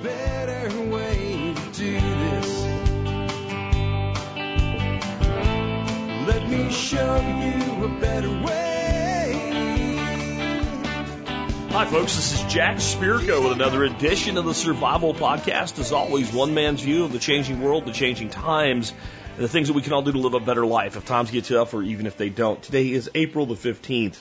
better way to do this. Let me show you a better way. Hi, folks. This is Jack Spirko with another edition of the Survival Podcast. As always, one man's view of the changing world, the changing times, and the things that we can all do to live a better life if times get tough or even if they don't. Today is April the 15th,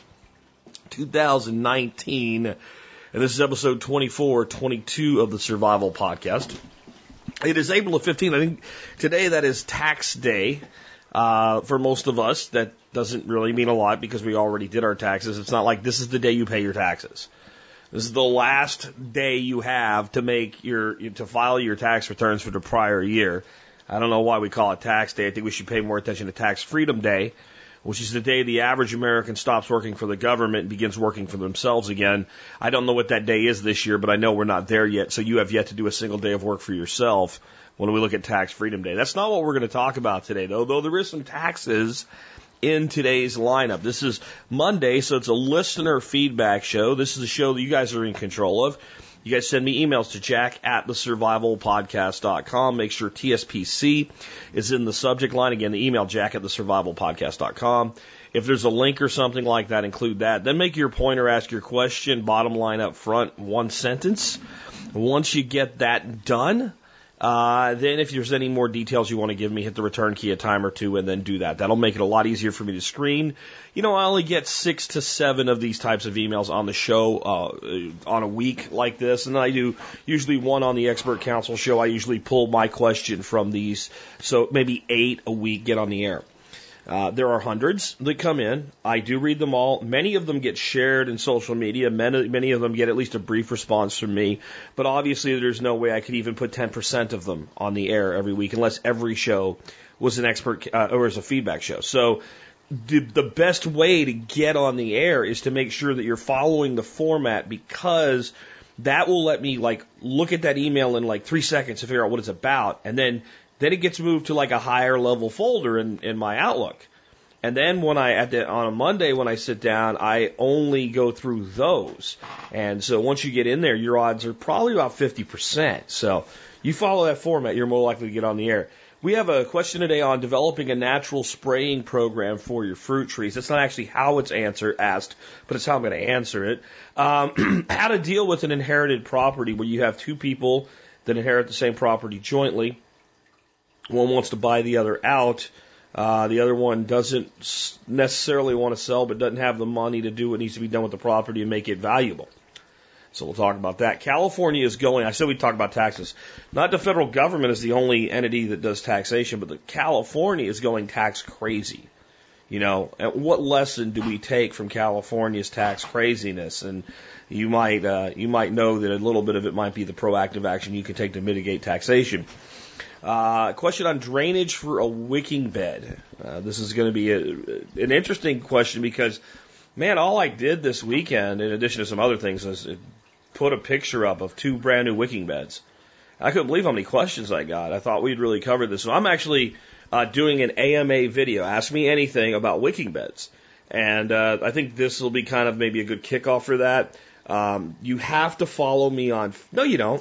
2019, and this is episode 2422 of the Survival Podcast. It is April the 15th. I think today that is tax day. For most of us, that doesn't really mean a lot because we already did our taxes. It's not like this is the day you pay your taxes. This is the last day you have to file your tax returns for the prior year. I don't know why we call it tax day. I think we should pay more attention to Tax Freedom Day, which is the day the average American stops working for the government and begins working for themselves again. I don't know what that day is this year, but I know we're not there yet, so you have yet to do a single day of work for yourself when we look at Tax Freedom Day. That's not what we're going to talk about today, though there is some taxes in today's lineup. This is Monday, so it's a listener feedback show. This is a show that you guys are in control of. You guys send me emails to jack@thesurvivalpodcast.com. Make sure TSPC is in the subject line. Again, the email jack@thesurvivalpodcast.com. If there's a link or something like that, include that. Then make your point or ask your question, bottom line up front, one sentence. Once you get that done, then if there's any more details you want to give me, hit the return key a time or two and then do that. That'll make it a lot easier for me to screen. You know, I only get 6 to 7 of these types of emails on the show on a week like this, and I do usually one on the Expert Council show. I usually pull my question from these, so maybe 8 a week get on the air. There are hundreds that come in. I do read them all. Many of them get shared in social media. Many of them get at least a brief response from me. But obviously, there's no way I could even put 10% of them on the air every week unless every show was an expert or was a feedback show. So the best way to get on the air is to make sure that you're following the format, because that will let me look at that email in 3 seconds to figure out what it's about, and then it gets moved to a higher level folder in my Outlook. And then on a Monday when I sit down, I only go through those. And so once you get in there, your odds are probably about 50%. So you follow that format, you're more likely to get on the air. We have a question today on developing a natural spraying program for your fruit trees. That's not actually how it's asked, but it's how I'm going to answer it. How to deal with an inherited property where you have two people that inherit the same property jointly. One wants to buy the other out. The other one doesn't necessarily want to sell, but doesn't have the money to do what needs to be done with the property and make it valuable. So we'll talk about that. California is I said we'd talk about taxes. Not the federal government is the only entity that does taxation, but California is going tax crazy. You know, and what lesson do we take from California's tax craziness? And you might know that a little bit of it might be the proactive action you can take to mitigate taxation. Question on drainage for a wicking bed. This is going to be an interesting question because, man, all I did this weekend, in addition to some other things, is put a picture up of 2 brand new wicking beds. I couldn't believe how many questions I got. I thought we'd really cover this. So I'm actually doing an AMA video. Ask me anything about wicking beds. And I think this will be kind of maybe a good kickoff for that. You have to follow me on... No, you don't.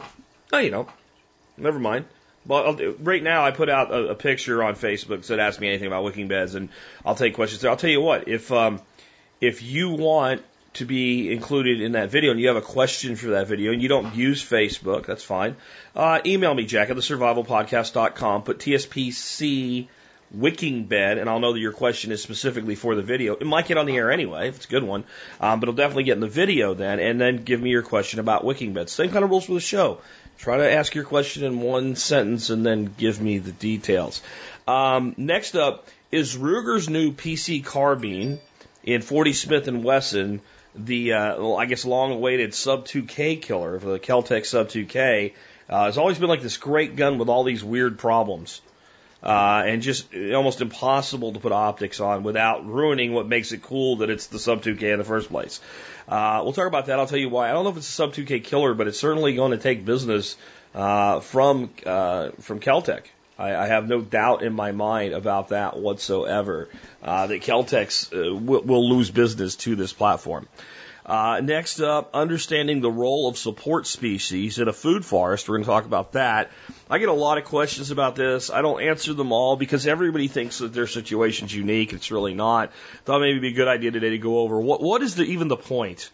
Never mind. Well, right now I put out a picture on Facebook that said ask me anything about wicking beds, and I'll take questions there. I'll tell you what, if you want to be included in that video and you have a question for that video and you don't use Facebook, that's fine. Email me, jack@thesurvivalpodcast.com, put TSPC wicking bed, and I'll know that your question is specifically for the video. It might get on the air anyway, if it's a good one, but it'll definitely get in the video then, and then give me your question about wicking beds. Same kind of rules for the show. Try to ask your question in one sentence and then give me the details. Next up is Ruger's new PC carbine in 40 Smith & Wesson, the, long-awaited Sub-2K killer for the Kel-Tec Sub-2K. It's always been this great gun with all these weird problems. And just almost impossible to put optics on without ruining what makes it cool that it's the Sub-2K in the first place. We'll talk about that. I'll tell you why. I don't know if it's a Sub-2K killer, but it's certainly going to take business from Kel-Tec. I have no doubt in my mind about that whatsoever, that Kel-Tec's will lose business to this platform. Next up, understanding the role of support species in a food forest. We're going to talk about that. I get a lot of questions about this. I don't answer them all because everybody thinks that their situation's unique. It's really not. Thought maybe it'd be a good idea today to go over what is even the point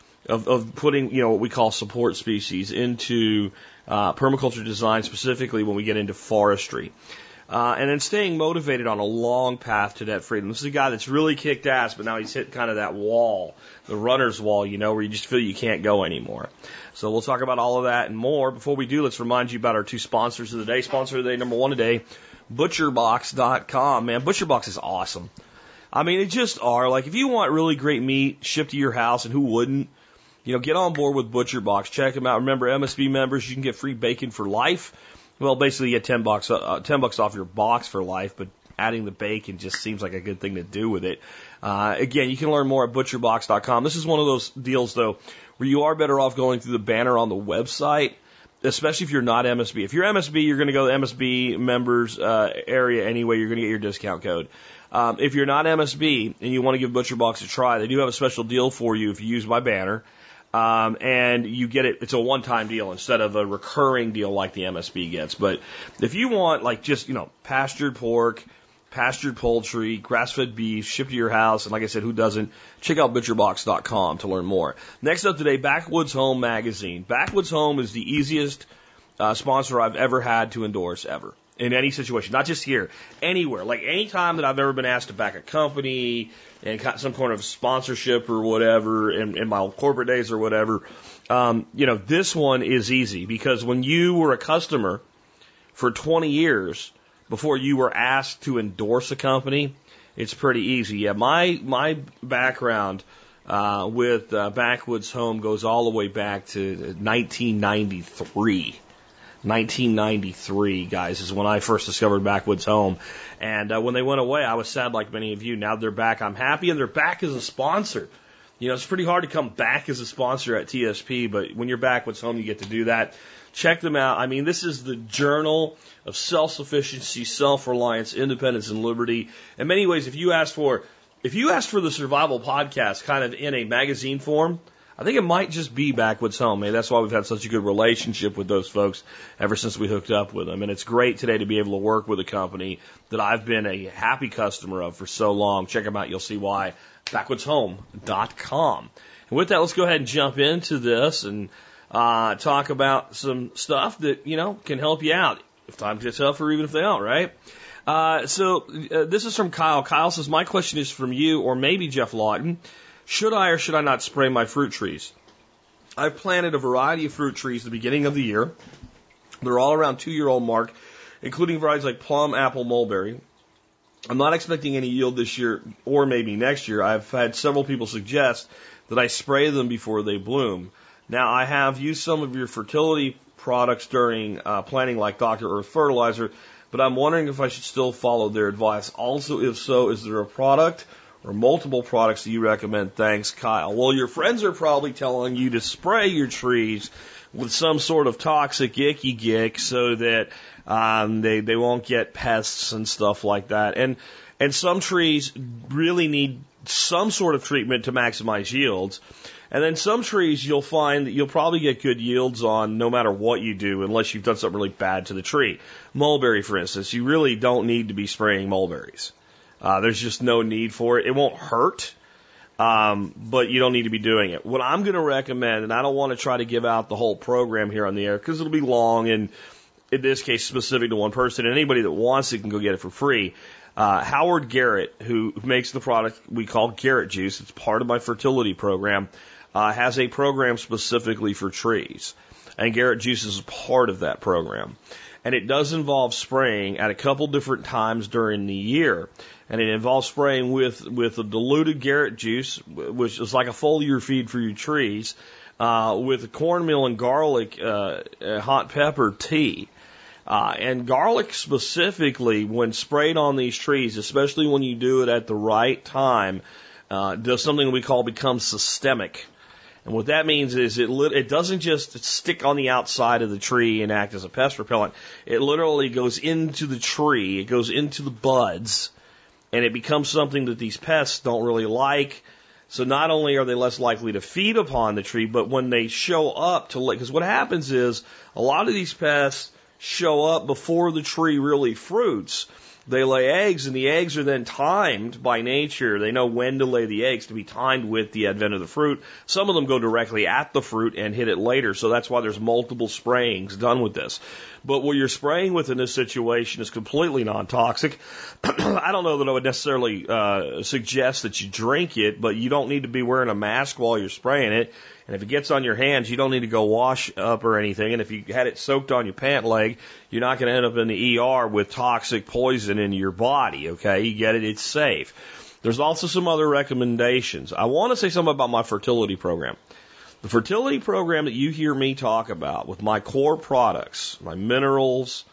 of putting, what we call support species into permaculture design, specifically when we get into forestry. And then staying motivated on a long path to debt freedom. This is a guy that's really kicked ass, but now he's hit kind of that wall, the runner's wall, where you just feel you can't go anymore. So we'll talk about all of that and more. Before we do, let's remind you about our two sponsors of the day. Sponsor of the day, number one today, ButcherBox.com. Man, ButcherBox is awesome. I mean, they just are. Like, if you want really great meat shipped to your house, and who wouldn't, get on board with ButcherBox. Check them out. Remember, MSB members, you can get free bacon for life. Well, basically, you get $10 off your box for life, but adding the bacon just seems like a good thing to do with it. Again, you can learn more at butcherbox.com. This is one of those deals, though, where you are better off going through the banner on the website, especially if you're not MSB. If you're MSB, you're going to go to the MSB members area anyway. You're going to get your discount code. If you're not MSB and you want to give ButcherBox a try, they do have a special deal for you if you use my banner. And you get it's a one-time deal instead of a recurring deal like the MSB gets. But if you want pastured pork, pastured poultry, grass-fed beef shipped to your house, and like I said, who doesn't, check out butcherbox.com to learn more. Next up today, Backwoods Home Magazine. Backwoods Home is the easiest sponsor I've ever had to endorse ever. In any situation, not just here, anywhere. Like any time that I've ever been asked to back a company and got some kind of sponsorship or whatever in my corporate days or whatever, this one is easy because when you were a customer for 20 years before you were asked to endorse a company, it's pretty easy. Yeah, my background with Backwoods Home goes all the way back to 1993. 1993, guys, is when I first discovered Backwoods Home. And when they went away, I was sad like many of you. Now they're back. I'm happy, and they're back as a sponsor. It's pretty hard to come back as a sponsor at TSP, but when you're Backwoods Home, you get to do that. Check them out. I mean, this is the journal of self-sufficiency, self-reliance, independence, and liberty. In many ways, if you asked for the Survival Podcast kind of in a magazine form, I think it might just be Backwoods Home. Maybe that's why we've had such a good relationship with those folks ever since we hooked up with them. And it's great today to be able to work with a company that I've been a happy customer of for so long. Check them out. You'll see why. BackwoodsHome.com. And with that, let's go ahead and jump into this and talk about some stuff that, can help you out if times get tough or even if they don't, right? So this is from Kyle. Kyle says, my question is from you or maybe Jeff Lawton. Should I or should I not spray my fruit trees? I've planted a variety of fruit trees at the beginning of the year. They're all around 2-year-old mark, including varieties like plum, apple, mulberry. I'm not expecting any yield this year or maybe next year. I've had several people suggest that I spray them before they bloom. Now, I have used some of your fertility products during planting, like Dr. Earth Fertilizer, but I'm wondering if I should still follow their advice. Also, if so, is there a product or multiple products that you recommend? Thanks, Kyle. Well, your friends are probably telling you to spray your trees with some sort of toxic icky gick so that they won't get pests and stuff like that. And some trees really need some sort of treatment to maximize yields. And then some trees you'll find that you'll probably get good yields on no matter what you do unless you've done something really bad to the tree. Mulberry, for instance, you really don't need to be spraying mulberries. There's just no need for it. It won't hurt, but you don't need to be doing it. What I'm going to recommend, and I don't want to try to give out the whole program here on the air because it'll be long and in this case specific to one person. Anybody that wants it can go get it for free. Howard Garrett, who makes the product we call Garrett Juice, it's part of my fertility program, has a program specifically for trees. And Garrett Juice is part of that program. And it does involve spraying at a couple different times during the year. And it involves spraying with a diluted Garrett juice, which is like a foliar feed for your trees, with cornmeal and garlic, hot pepper tea. And garlic specifically, when sprayed on these trees, especially when you do it at the right time, does something we call become systemic. And what that means is it doesn't just stick on the outside of the tree and act as a pest repellent. It literally goes into the tree, it goes into the buds, and it becomes something that these pests don't really like. So not only are they less likely to feed upon the tree, but when they show up to lay, because what happens is a lot of these pests show up before the tree really fruits. They lay eggs, and the eggs are then timed by nature. They know when to lay the eggs to be timed with the advent of the fruit. Some of them go directly at the fruit and hit it later, so that's why there's multiple sprayings done with this. But what you're spraying with in this situation is completely non-toxic. I don't know that I would necessarily suggest that you drink it, but you don't need to be wearing a mask while you're spraying it. And if it gets on your hands, you don't need to go wash up or anything. And if you had it soaked on your pant leg, you're not going to end up in the ER with toxic poison in your body, okay? You get it? It's safe. There's also some other recommendations. I want to say something about my fertility program. The fertility program that you hear me talk about with my core products, my minerals,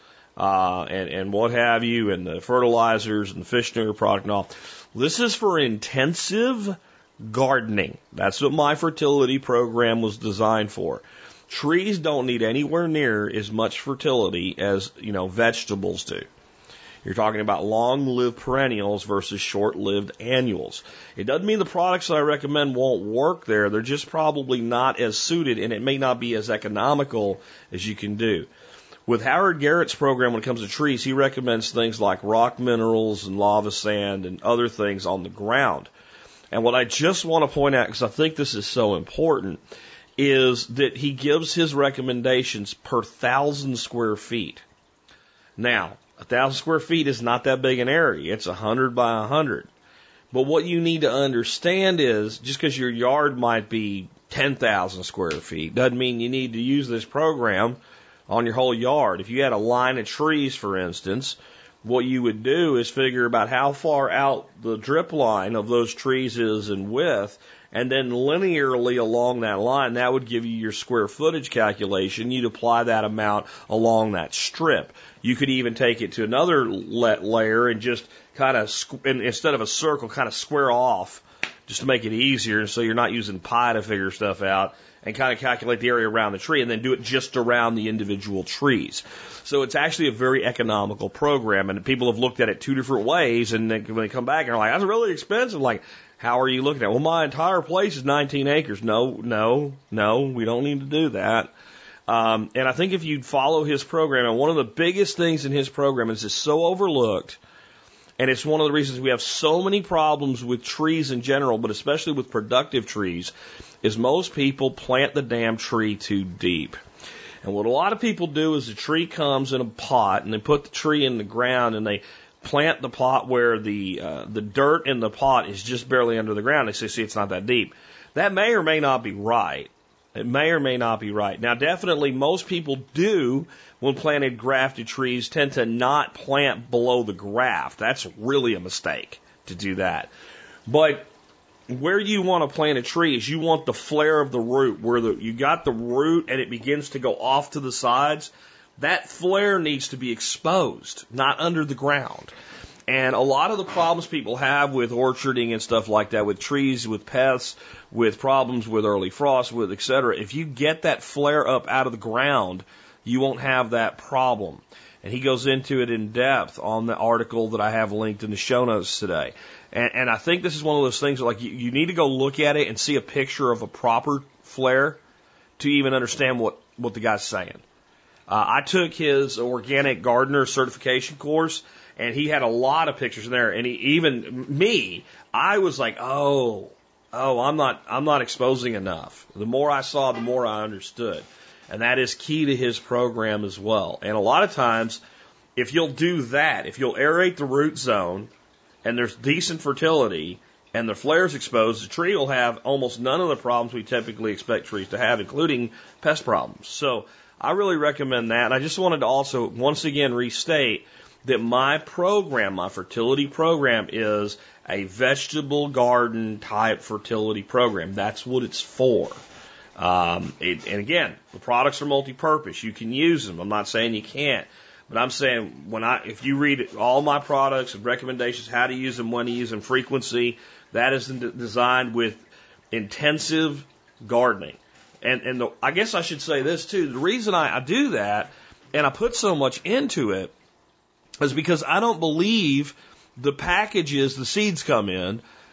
and what have you, and the fertilizers and the fish stinger product and all, this is for intensive gardening. That's what my fertility program was designed for. Trees don't need anywhere near as much fertility as, vegetables do. You're talking about long-lived perennials versus short-lived annuals. It doesn't mean the products that I recommend won't work there. They're just probably not as suited, and it may not be as economical as you can do. With Howard Garrett's program, when it comes to trees, he recommends things like rock minerals and lava sand and other things on the ground. And what I just want to point out, because I think this is so important, is that he gives his recommendations per 1,000 square feet. Now, 1,000 square feet is not that big an area. It's 100 by 100. But what you need to understand is, just because your yard might be 10,000 square feet, doesn't mean you need to use this program on your whole yard. If you had a line of trees, for instance, what you would do is figure about how far out the drip line of those trees is in width, and then linearly along that line, that would give you your square footage calculation. You'd apply that amount along that strip. You could even take it to another layer and just kind of, instead of a circle, kind of square off just to make it easier, so you're not using pi to figure stuff out, and kind of calculate the area around the tree and then do it just around the individual trees. So it's actually a very economical program, and people have looked at it two different ways, and then when they come back and are like, that's really expensive, like, how are you looking at it? Well, my entire place is 19 acres. No, we don't need to do that. And I think if you follow his program, and one of the biggest things in his program is it's so overlooked, and it's one of the reasons we have so many problems with trees in general, but especially with productive trees, is most people plant the damn tree too deep. And what a lot of people do is the tree comes in a pot, and they put the tree in the ground, and they plant the pot where the dirt in the pot is just barely under the ground. They say, see, it's not that deep. That may or may not be right. It may or may not be right. Now, definitely most people do, when planted grafted trees, tend to not plant below the graft. That's really a mistake to do that. But where you want to plant a tree is you want the flare of the root, where you got the root and it begins to go off to the sides. That flare needs to be exposed, not under the ground. And a lot of the problems people have with orcharding and stuff like that, with trees, with pests, with problems with early frost, with et cetera, if you get that flare up out of the ground, you won't have that problem. And he goes into it in depth on the article that I have linked in the show notes today. And I think this is one of those things that, like, you need to go look at it and see a picture of a proper flare to even understand what the guy's saying. I took his organic gardener certification course, and he had a lot of pictures in there. And I was like, I'm not exposing enough. The more I saw, the more I understood. And that is key to his program as well. And a lot of times, if you'll do that, if you'll aerate the root zone, and there's decent fertility, and the flare's exposed, the tree will have almost none of the problems we typically expect trees to have, including pest problems. So I really recommend that. And I just wanted to also, once again, restate that my program, my fertility program, is a vegetable garden type fertility program. That's what it's for. And again, the products are multi-purpose. You can use them. I'm not saying you can't. But I'm saying if you read all my products and recommendations, how to use them, when to use them, frequency, that is designed with intensive gardening. And I guess I should say this too. The reason I do that and I put so much into it is because I don't believe the packages the seeds come in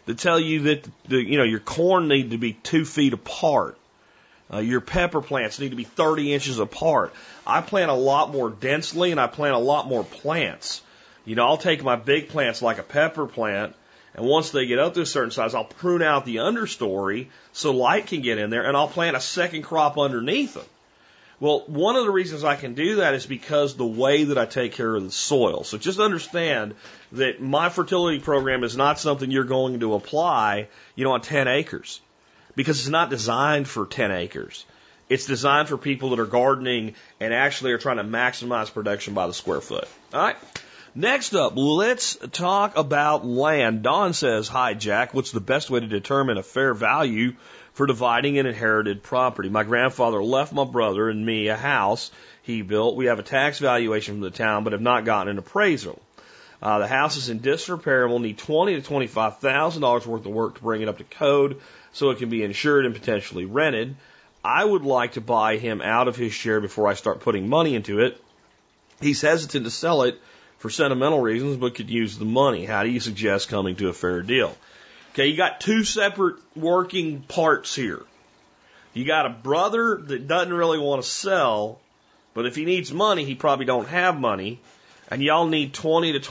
that tell you that your corn need to be 2 feet apart. Your pepper plants need to be 30 inches apart. I plant a lot more densely and I plant a lot more plants. I'll take my big plants like a pepper plant, and once they get up to a certain size, I'll prune out the understory so light can get in there, and I'll plant a second crop underneath them. Well, one of the reasons I can do that is because the way that I take care of the soil. So just understand that my fertility program is not something you're going to apply, on 10 acres. Because it's not designed for 10 acres. It's designed for people that are gardening and actually are trying to maximize production by the square foot. All right. Next up, let's talk about land. Don says, "Hi, Jack. What's the best way to determine a fair value for dividing an inherited property? My grandfather left my brother and me a house he built. We have a tax valuation from the town, but have not gotten an appraisal. The house is in disrepair and will need $20,000 to $25,000 worth of work to bring it up to code so it can be insured and potentially rented. I would like to buy him out of his share before I start putting money into it. He's hesitant to sell it for sentimental reasons, but could use the money. How do you suggest coming to a fair deal?" Okay, you got two separate working parts here. You got a brother that doesn't really want to sell, but if he needs money, he probably don't have money, and y'all need $20,000 to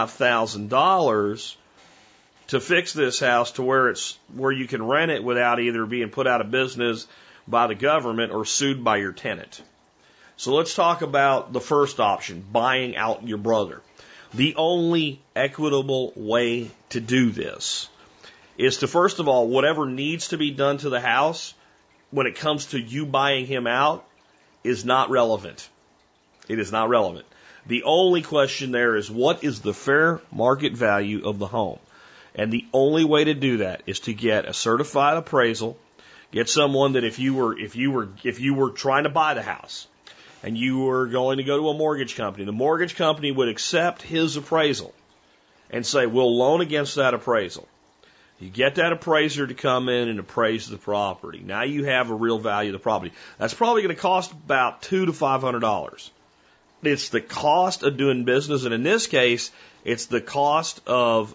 $25,000 to fix this house to where you can rent it without either being put out of business by the government or sued by your tenant. So let's talk about the first option, buying out your brother. The only equitable way to do this is to, first of all, whatever needs to be done to the house when it comes to you buying him out is not relevant. It is not relevant. The only question there is, what is the fair market value of the home? And the only way to do that is to get a certified appraisal, get someone that if you were trying to buy the house, and you were going to go to a mortgage company, the mortgage company would accept his appraisal and say, we'll loan against that appraisal. You get that appraiser to come in and appraise the property. Now you have a real value of the property. That's probably going to cost about $200 to $500. It's the cost of doing business, and in this case, it's the cost of,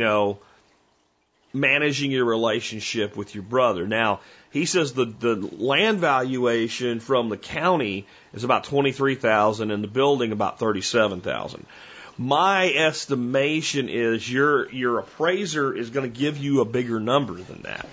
managing your relationship with your brother. Now, he says the land valuation from the county is about $23,000 and the building about $37,000. My estimation is your appraiser is going to give you a bigger number than that.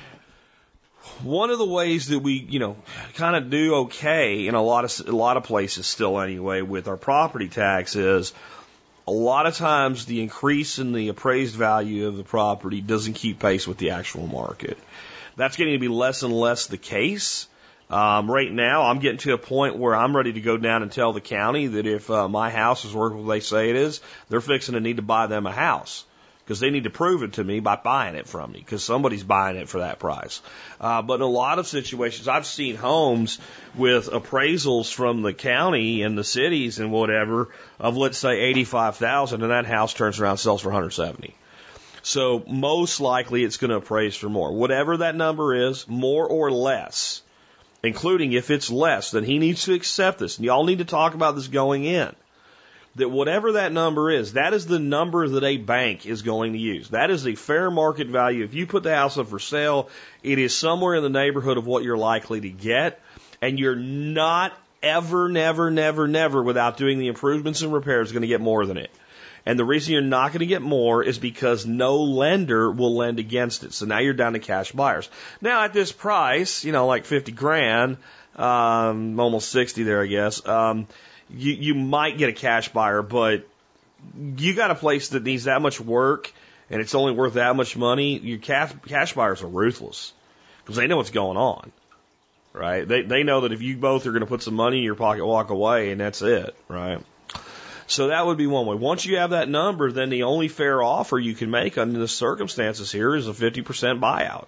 One of the ways that we, kind of do okay in a lot of places still anyway with our property tax is a lot of times the increase in the appraised value of the property doesn't keep pace with the actual market. That's getting to be less and less the case. Right now, I'm getting to a point where I'm ready to go down and tell the county that if my house is worth what they say it is, they're fixing to need to buy them a house. Because they need to prove it to me by buying it from me, because somebody's buying it for that price. But in a lot of situations, I've seen homes with appraisals from the county and the cities and whatever of, let's say, $85,000, and that house turns around and sells for $170,000. So most likely it's going to appraise for more. Whatever that number is, more or less, including if it's less, then he needs to accept this. And y'all need to talk about this going in. That whatever that number is, that is the number that a bank is going to use. That is a fair market value. If you put the house up for sale, it is somewhere in the neighborhood of what you're likely to get, and you're not ever, never, without doing the improvements and repairs, going to get more than it. And the reason you're not going to get more is because no lender will lend against it. So now you're down to cash buyers. Now at this price, like $50,000, almost 60 there, I guess. You might get a cash buyer, but you got a place that needs that much work and it's only worth that much money. Your cash buyers are ruthless because they know what's going on, right? They know that if you both are going to put some money in your pocket, walk away, and that's it, right? So that would be one way. Once you have that number, then the only fair offer you can make under the circumstances here is a 50% buyout.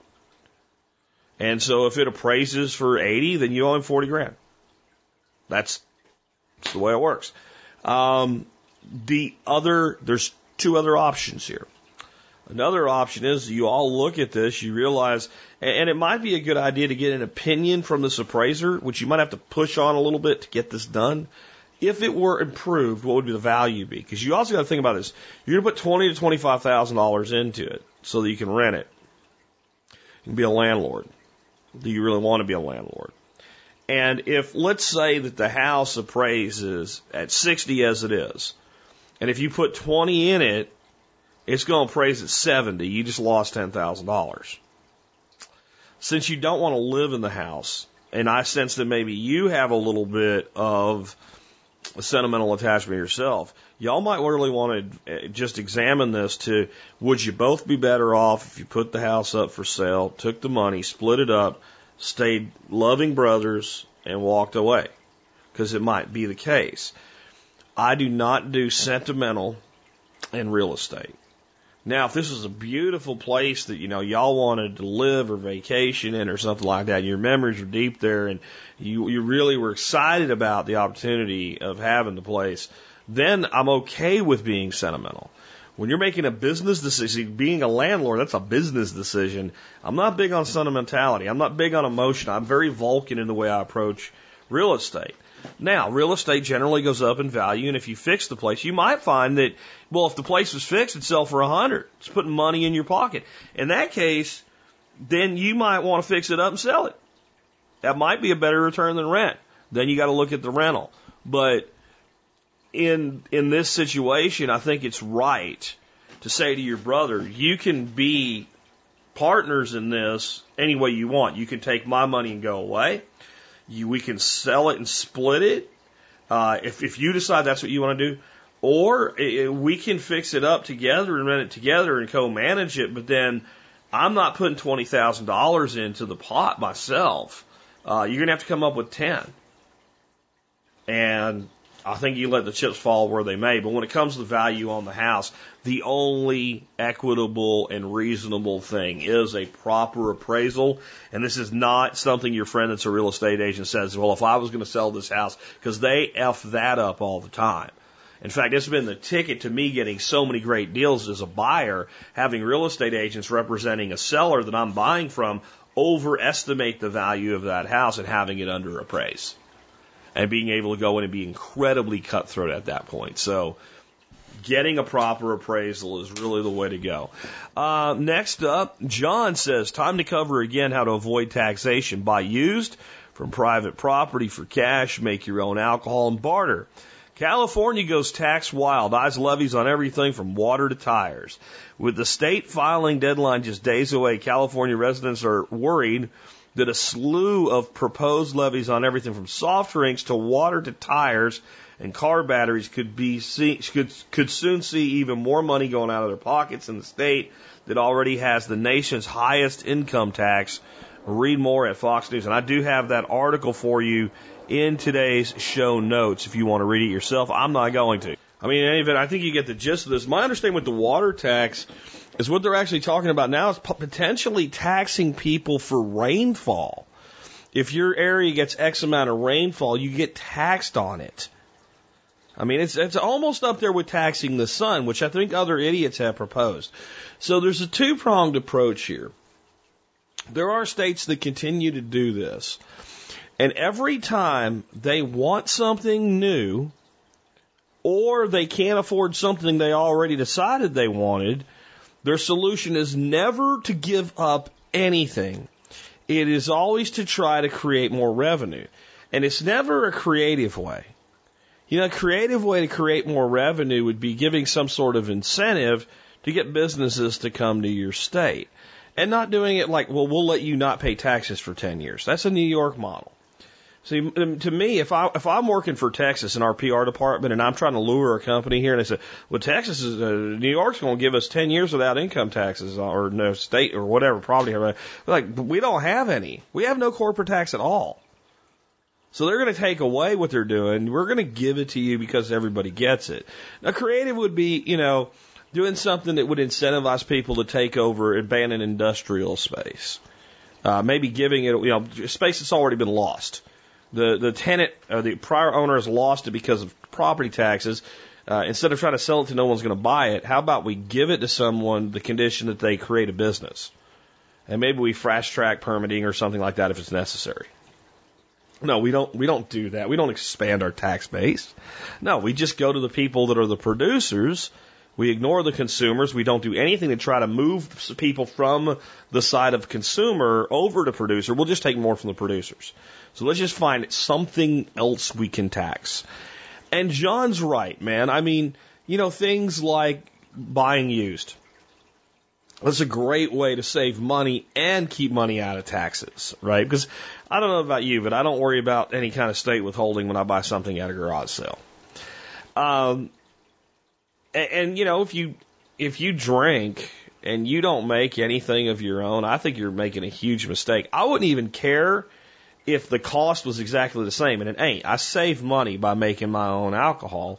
And so if it appraises for 80, then you owe him $40,000. That's the way it works. There's two other options here. Another option is you all look at this, you realize, and it might be a good idea to get an opinion from this appraiser, which you might have to push on a little bit to get this done. if it were improved, what would the value be? Because you also got to think about this. You're going to put $20,000 to $25,000 into it so that you can rent it. You can be a landlord. Do you really want to be a landlord? And if, let's say that the house appraises at 60 as it is, and if you put 20 in it, it's going to appraise at 70. You just lost $10,000. Since you don't want to live in the house, and I sense that maybe you have a little bit of a sentimental attachment yourself, y'all might really want to just examine this to, would you both be better off if you put the house up for sale, took the money, split it up, stayed loving brothers, and walked away? Because it might be the case. I do not do sentimental in real estate. Now, if this was a beautiful place that, y'all wanted to live or vacation in or something like that, your memories are deep there and you really were excited about the opportunity of having the place, then I'm okay with being sentimental. When you're making a business decision, being a landlord, that's a business decision. I'm not big on sentimentality. I'm not big on emotion. I'm very Vulcan in the way I approach real estate. Now, real estate generally goes up in value, and if you fix the place, you might find that, well, if the place was fixed, it'd sell for $100. It's putting money in your pocket. In that case, then you might want to fix it up and sell it. That might be a better return than rent. Then you got to look at the rental. But in this situation, I think it's right to say to your brother, you can be partners in this any way you want. You can take my money and go away. We can sell it and split it if you decide that's what you want to do. Or we can fix it up together and rent it together and co-manage it. But then I'm not putting $20,000 into the pot myself. You're going to have to come up with 10. And I think you let the chips fall where they may. But when it comes to the value on the house, the only equitable and reasonable thing is a proper appraisal. And this is not something your friend that's a real estate agent says, well, if I was going to sell this house, because they F that up all the time. In fact, it's been the ticket to me getting so many great deals as a buyer, having real estate agents representing a seller that I'm buying from overestimate the value of that house and having it under appraise. And being able to go in and be incredibly cutthroat at that point. So getting a proper appraisal is really the way to go. Next up, John says, time to cover again how to avoid taxation. Buy used from private property for cash. Make your own alcohol and barter. California goes tax wild. Eyes levies on everything from water to tires. With the state filing deadline just days away, California residents are worried that a slew of proposed levies on everything from soft drinks to water to tires and car batteries could soon see even more money going out of their pockets in the state that already has the nation's highest income tax. Read more at Fox News. And I do have that article for you in today's show notes if you want to read it yourself. I'm not going to. I mean, in any event, I think you get the gist of this. My understanding with the water tax is what they're actually talking about now is potentially taxing people for rainfall. If your area gets X amount of rainfall, you get taxed on it. I mean, it's almost up there with taxing the sun, which I think other idiots have proposed. So there's a two-pronged approach here. There are states that continue to do this. And every time they want something new, or they can't afford something they already decided they wanted, their solution is never to give up anything. It is always to try to create more revenue. And it's never a creative way. A creative way to create more revenue would be giving some sort of incentive to get businesses to come to your state. And not doing it like, well, we'll let you not pay taxes for 10 years. That's a New York model. See, to me, if I'm working for Texas in our PR department and I'm trying to lure a company here and they say, well, New York's going to give us 10 years without income taxes or no state or whatever, property. Like, we don't have any. We have no corporate tax at all. So they're going to take away what they're doing. We're going to give it to you because everybody gets it. Now, creative would be, doing something that would incentivize people to take over abandoned industrial space. Maybe giving it, space that's already been lost. The tenant or the prior owner has lost it because of property taxes. Instead of trying to sell it to no one's going to buy it, how about we give it to someone the condition that they create a business? And maybe we fast track permitting or something like that if it's necessary. No, we don't do that. We don't expand our tax base. No, we just go to the people that are the producers. We ignore the consumers. We don't do anything to try to move people from the side of consumer over to producer. We'll just take more from the producers. So let's just find something else we can tax. And John's right, man. I mean, things like buying used. That's a great way to save money and keep money out of taxes, right? Because I don't know about you, but I don't worry about any kind of state withholding when I buy something at a garage sale. And if you drink and you don't make anything of your own, I think you're making a huge mistake. I wouldn't even care if the cost was exactly the same, and it ain't. I save money by making my own alcohol.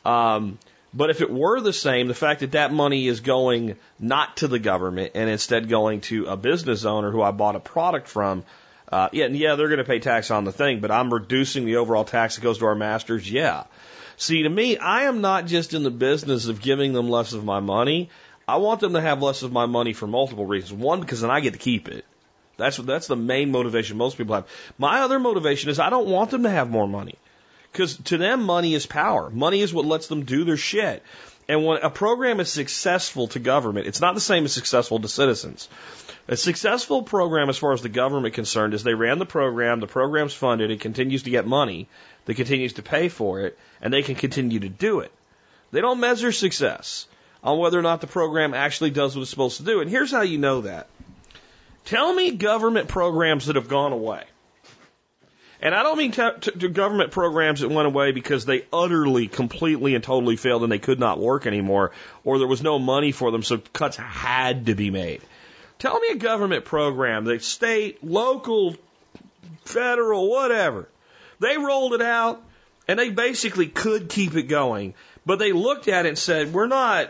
But if it were the same, the fact that that money is going not to the government and instead going to a business owner who I bought a product from, they're going to pay tax on the thing, but I'm reducing the overall tax that goes to our masters, yeah. See, to me, I am not just in the business of giving them less of my money. I want them to have less of my money for multiple reasons. One, because then I get to keep it. That's the main motivation most people have. My other motivation is I don't want them to have more money. Because to them, money is power. Money is what lets them do their shit. And when a program is successful to government, it's not the same as successful to citizens. A successful program, as far as the government is concerned, is they ran the program's funded, it continues to get money, that continues to pay for it, and they can continue to do it. They don't measure success on whether or not the program actually does what it's supposed to do. And here's how you know that. Tell me government programs that have gone away. And I don't mean to government programs that went away because they utterly, completely, and totally failed and they could not work anymore, or there was no money for them, so cuts had to be made. Tell me a government program that state, local, federal, whatever, they rolled it out and they basically could keep it going, but they looked at it and said, we're not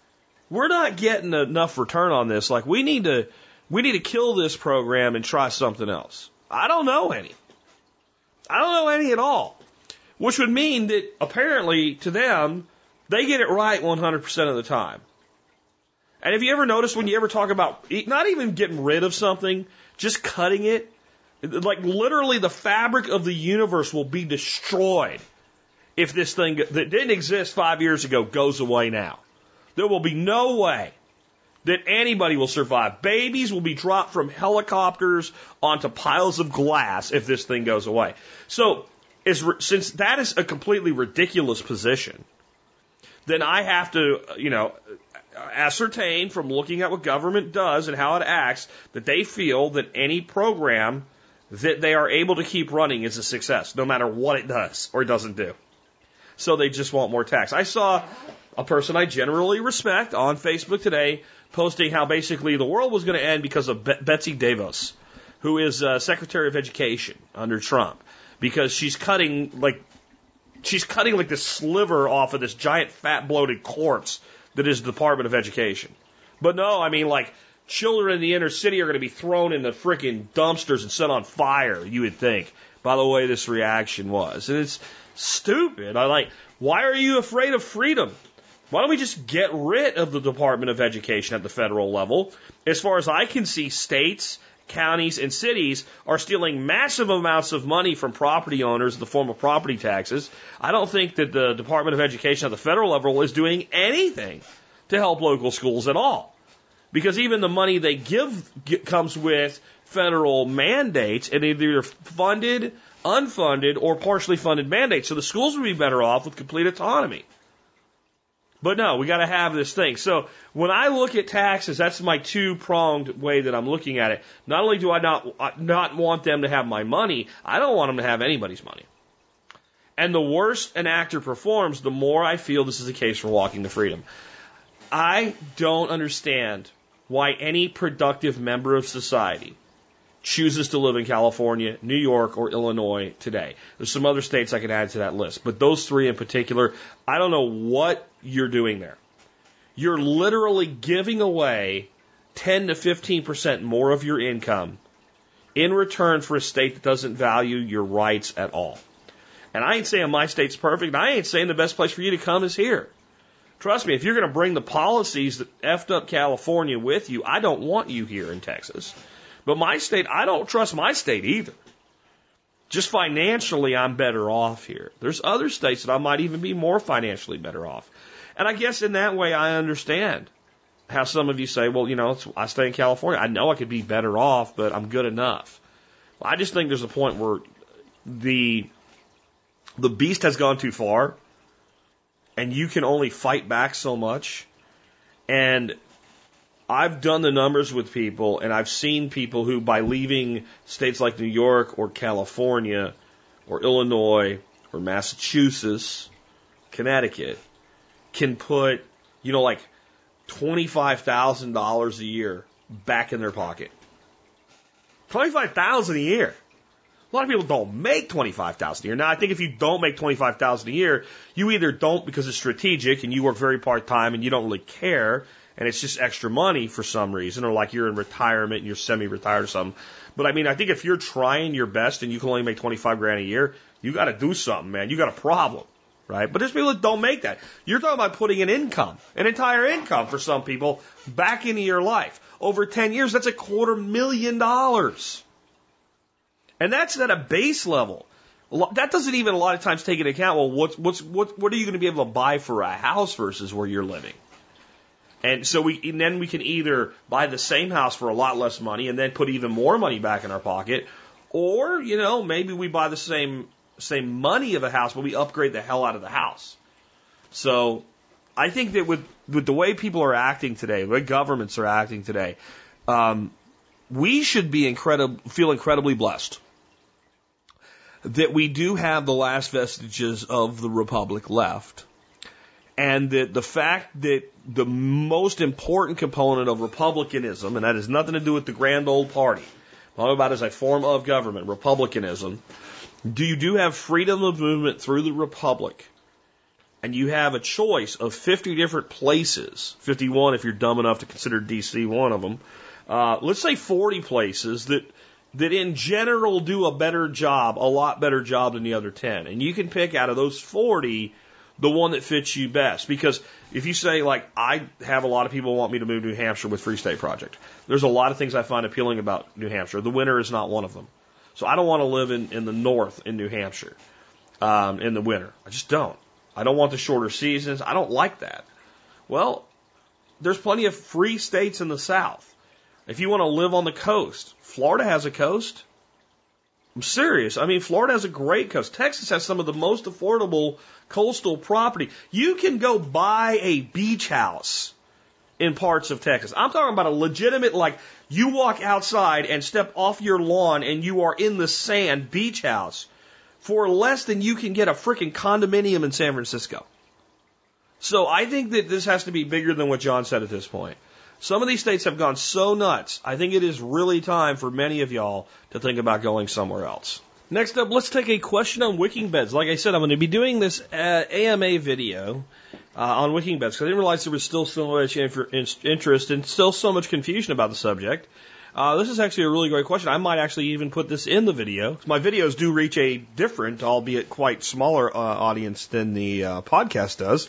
getting enough return on this. Like, we need to kill this program and try something else. I don't know any. I don't know any at all. Which would mean that apparently to them, they get it right 100% of the time. And have you ever noticed when you ever talk about not even getting rid of something, just cutting it, like literally the fabric of the universe will be destroyed if this thing that didn't exist 5 years ago goes away now. There will be no way that anybody will survive. Babies will be dropped from helicopters onto piles of glass if this thing goes away. So, since that is a completely ridiculous position, then I have to, ascertain from looking at what government does and how it acts that they feel that any program that they are able to keep running is a success, no matter what it does or doesn't do. So they just want more tax. I saw a person I generally respect on Facebook today posting how basically the world was going to end because of Betsy DeVos, who is Secretary of Education under Trump, because she's cutting like this sliver off of this giant fat bloated corpse that is the Department of Education. But no, I mean, like, children in the inner city are going to be thrown in the frickin' dumpsters and set on fire, you would think, by the way this reaction was. And it's stupid. Why are you afraid of freedom? Why don't we just get rid of the Department of Education at the federal level? As far as I can see, states, counties, and cities are stealing massive amounts of money from property owners in the form of property taxes. I don't think that the Department of Education at the federal level is doing anything to help local schools at all. Because even the money they give comes with federal mandates, and they're either funded, unfunded, or partially funded mandates. So the schools would be better off with complete autonomy. But no, we got to have this thing. So when I look at taxes, that's my two-pronged way that I'm looking at it. Not only do I not want them to have my money, I don't want them to have anybody's money. And the worse an actor performs, the more I feel this is a case for walking to freedom. I don't understand why any productive member of society chooses to live in California, New York, or Illinois today. There's some other states I could add to that list, but those three in particular, I don't know what you're doing there. You're literally giving away 10 to 15% more of your income in return for a state that doesn't value your rights at all. And I ain't saying my state's perfect, and I ain't saying the best place for you to come is here. Trust me, if you're going to bring the policies that effed up California with you, I don't want you here in Texas. But my state, I don't trust my state either. Just financially, I'm better off here. There's other states that I might even be more financially better off. And I guess in that way, I understand how some of you say, well, I stay in California. I know I could be better off, but I'm good enough. Well, I just think there's a point where the beast has gone too far, and you can only fight back so much. And I've done the numbers with people, and I've seen people who, by leaving states like New York or California or Illinois or Massachusetts, Connecticut, can put, like $25,000 a year back in their pocket. $25,000 a year. A lot of people don't make $25,000 a year. Now, I think if you don't make $25,000 a year, you either don't because it's strategic and you work very part-time and you don't really care, and it's just extra money for some reason, or like you're in retirement and you're semi-retired or something. But I mean, I think if you're trying your best and you can only make 25 grand a year, you got to do something, man. You got a problem, right? But there's people that don't make that. You're talking about putting an income, an entire income for some people, back into your life. Over 10 years, that's $250,000. And that's at a base level. That doesn't even a lot of times take into account, well, what are you going to be able to buy for a house versus where you're living? And so then we can either buy the same house for a lot less money and then put even more money back in our pocket, or, maybe we buy the same money of a house, but we upgrade the hell out of the house. So I think that with the way people are acting today, the way governments are acting today, we should be feel incredibly blessed that we do have the last vestiges of the republic left. And that the fact that the most important component of republicanism, and that has nothing to do with the grand old party, all about as a form of government, republicanism, you do have freedom of movement through the republic. And you have a choice of 50 different places, 51 if you're dumb enough to consider DC one of them. Let's say 40 places that in general do a lot better job than the other 10. And you can pick out of those 40 the one that fits you best. Because if you say, like, I have a lot of people who want me to move to New Hampshire with Free State Project, there's a lot of things I find appealing about New Hampshire. The winter is not one of them. So I don't want to live in the north in New Hampshire in the winter. I just don't. I don't want the shorter seasons. I don't like that. Well, there's plenty of free states in the south. If you want to live on the coast, Florida has a coast. I'm serious. I mean, Florida has a great coast. Texas has some of the most affordable coastal property. You can go buy a beach house in parts of Texas. I'm talking about a legitimate, like, you walk outside and step off your lawn and you are in the sand beach house for less than you can get a freaking condominium in San Francisco. So I think that this has to be bigger than what John said at this point. Some of these states have gone so nuts, I think it is really time for many of y'all to think about going somewhere else. Next up, let's take a question on wicking beds. Like I said, I'm going to be doing this AMA video on wicking beds because I didn't realize there was still so much interest and still so much confusion about the subject. This is actually a really great question. I might actually even put this in the video. My videos do reach a different, albeit quite smaller audience than the podcast does.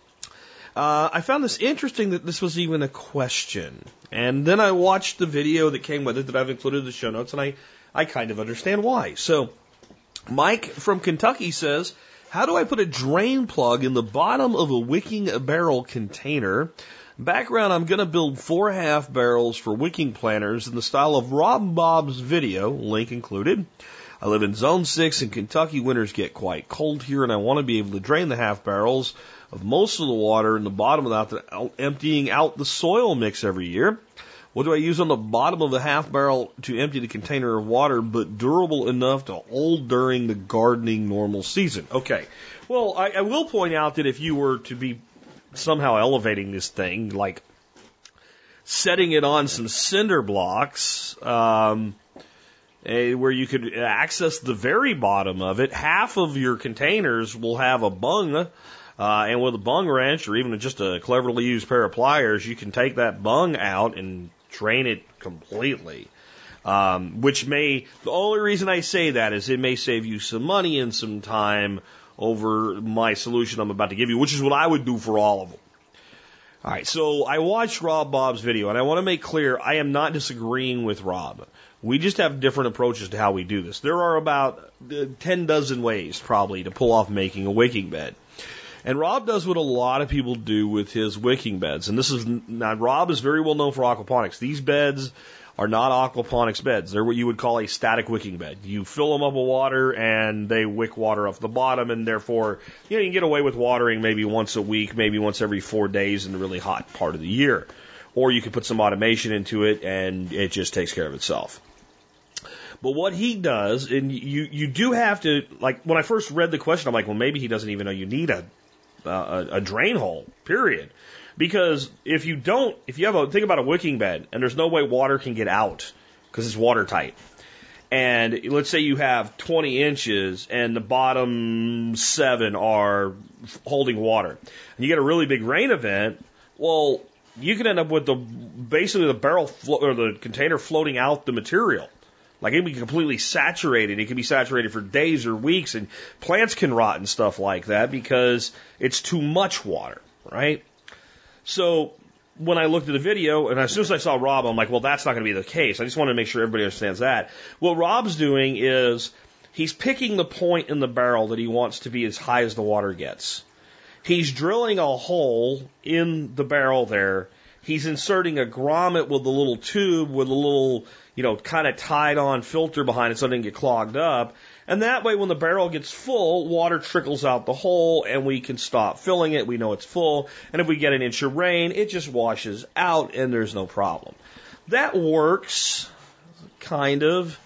I found this interesting that this was even a question. And then I watched the video that came with it that I've included in the show notes, and I kind of understand why. So, Mike from Kentucky says, how do I put a drain plug in the bottom of a wicking barrel container? Background, I'm going to build 4 half barrels for wicking planters in the style of Rob Bob's video, link included. I live in Zone 6 in Kentucky. Winters get quite cold here, and I want to be able to drain the half barrels of most of the water in the bottom without emptying out the soil mix every year. What do I use on the bottom of the half barrel to empty the container of water, but durable enough to hold during the gardening normal season? Okay. Well, I will point out that if you were to be somehow elevating this thing, like setting it on some cinder blocks, where you could access the very bottom of it, half of your containers will have a bung. And with a bung wrench or even just a cleverly used pair of pliers, you can take that bung out and drain it completely. The only reason I say that is it may save you some money and some time over my solution I'm about to give you, which is what I would do for all of them. Alright, so I watched Rob Bob's video, and I want to make clear I am not disagreeing with Rob. We just have different approaches to how we do this. There are about 10 dozen ways probably to pull off making a wicking bed. And Rob does what a lot of people do with his wicking beds. And now Rob is very well known for aquaponics. These beds are not aquaponics beds. They're what you would call a static wicking bed. You fill them up with water and they wick water off the bottom, and therefore, you can get away with watering maybe once a week, maybe once every 4 days in the really hot part of the year. Or you could put some automation into it and it just takes care of itself. But what he does, and you do have to, like, when I first read the question, I'm like, well, maybe he doesn't even know you need a drain hole, period. Because if you think about a wicking bed and there's no way water can get out because it's watertight. And let's say you have 20 inches and the bottom 7 are holding water. And you get a really big rain event, well, you can end up with basically the barrel or the container floating out the material. Like it can be completely saturated. It can be saturated for days or weeks, and plants can rot and stuff like that because it's too much water, right? So when I looked at the video, and as soon as I saw Rob, I'm like, well, that's not going to be the case. I just want to make sure everybody understands that. What Rob's doing is he's picking the point in the barrel that he wants to be as high as the water gets. He's drilling a hole in the barrel there. He's inserting a grommet with a little tube with a little, kind of tied on filter behind it so it doesn't get clogged up. And that way, when the barrel gets full, water trickles out the hole and we can stop filling it. We know it's full. And if we get an inch of rain, it just washes out and there's no problem. That works, kind of.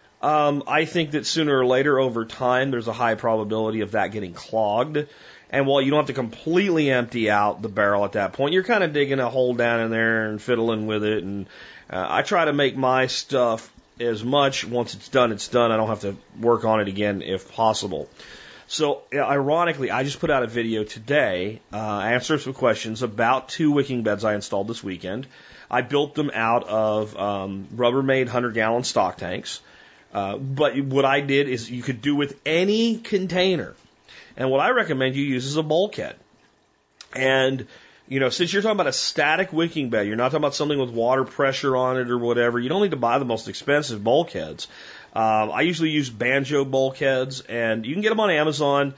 I think that sooner or later, over time, there's a high probability of that getting clogged. And while you don't have to completely empty out the barrel at that point, you're kind of digging a hole down in there and fiddling with it. And I try to make my stuff as much. Once it's done, it's done. I don't have to work on it again if possible. So, ironically, I just put out a video today, answering some questions about 2 wicking beds I installed this weekend. I built them out of Rubbermaid 100-gallon stock tanks. But what I did is you could do with any container. And what I recommend you use is a bulkhead. And, since you're talking about a static wicking bed, you're not talking about something with water pressure on it or whatever, you don't need to buy the most expensive bulkheads. I usually use Banjo bulkheads, and you can get them on Amazon.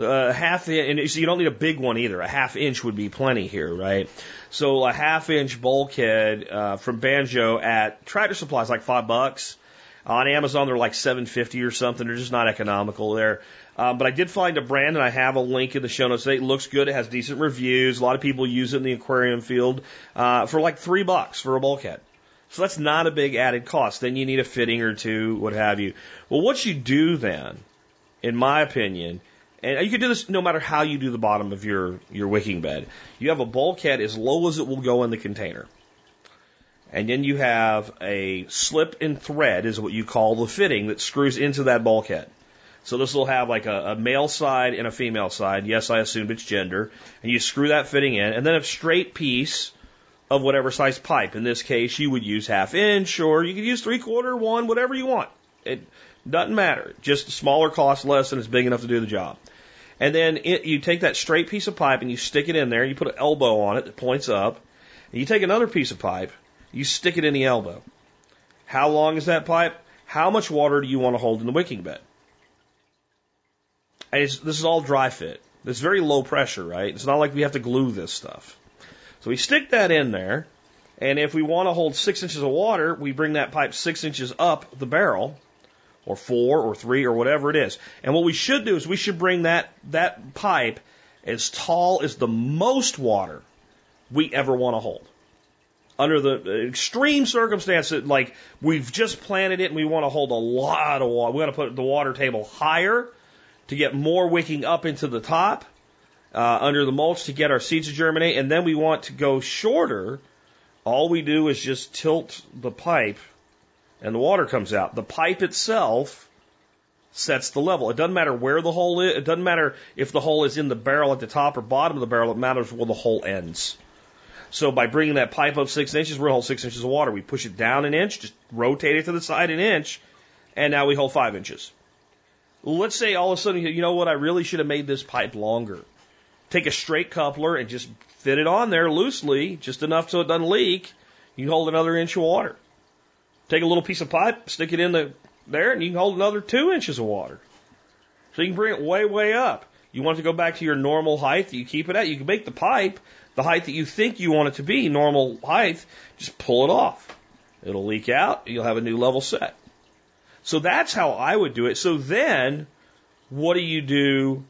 And so you don't need a big one either. A 1/2 inch would be plenty here, right? So a 1/2 inch bulkhead from Banjo at Tractor Supply is like $5. On Amazon, they're like $7.50 or something. They're just not economical there. But I did find a brand, and I have a link in the show notes. It looks good. It has decent reviews. A lot of people use it in the aquarium field for like $3 for a bulkhead. So that's not a big added cost. Then you need a fitting or two, what have you. Well, what you do then, in my opinion, and you can do this no matter how you do the bottom of your wicking bed. You have a bulkhead as low as it will go in the container. And then you have a slip and thread, is what you call the fitting, that screws into that bulkhead. So this will have like a male side and a female side. Yes, I assumed it's gender. And you screw that fitting in, and then a straight piece of whatever size pipe. In this case, you would use 1/2 inch, or you could use 3/4, 1, whatever you want. It doesn't matter. Just smaller costs less, and it's big enough to do the job. And then you take that straight piece of pipe and you stick it in there. You put an elbow on it that points up. And you take another piece of pipe. You stick it in the elbow. How long is that pipe? How much water do you want to hold in the wicking bed? And this is all dry fit. It's very low pressure, right? It's not like we have to glue this stuff. So we stick that in there, and if we want to hold 6 inches of water, we bring that pipe 6 inches up the barrel, or 4 or 3 or whatever it is. And what we should do is we should bring that pipe as tall as the most water we ever want to hold. Under the extreme circumstance that, like, we've just planted it and we want to hold a lot of water. We want to put the water table higher to get more wicking up into the top, under the mulch to get our seeds to germinate. And then we want to go shorter. All we do is just tilt the pipe and the water comes out. The pipe itself sets the level. It doesn't matter where the hole is. It doesn't matter if the hole is in the barrel at the top or bottom of the barrel. It matters where the hole ends. So by bringing that pipe up 6 inches, we're going to hold 6 inches of water. We push it down an inch, just rotate it to the side an inch, and now we hold 5 inches. Let's say all of a sudden, you know what, I really should have made this pipe longer. Take a straight coupler and just fit it on there loosely, just enough so it doesn't leak. You can hold another inch of water. Take a little piece of pipe, stick it in there, and you can hold another 2 inches of water. So you can bring it way, way up. You want it to go back to your normal height that you keep it at. You can make the pipe the height that you think you want it to be, normal height. Just pull it off. It'll leak out. You'll have a new level set. So that's how I would do it. So then, what do you do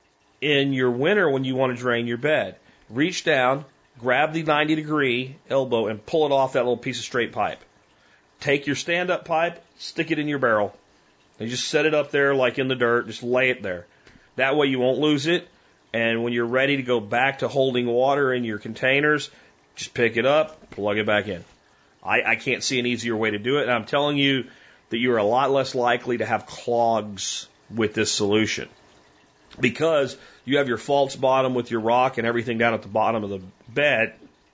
in your winter when you want to drain your bed? Reach down, grab the 90-degree elbow, and pull it off that little piece of straight pipe. Take your stand-up pipe, stick it in your barrel, and just set it up there like in the dirt. Just lay it there. That way you won't lose it. And when you're ready to go back to holding water in your containers, just pick it up, plug it back in. I can't see an easier way to do it. And I'm telling you that you're a lot less likely to have clogs with this solution, because you have your false bottom with your rock and everything down at the bottom of the bed.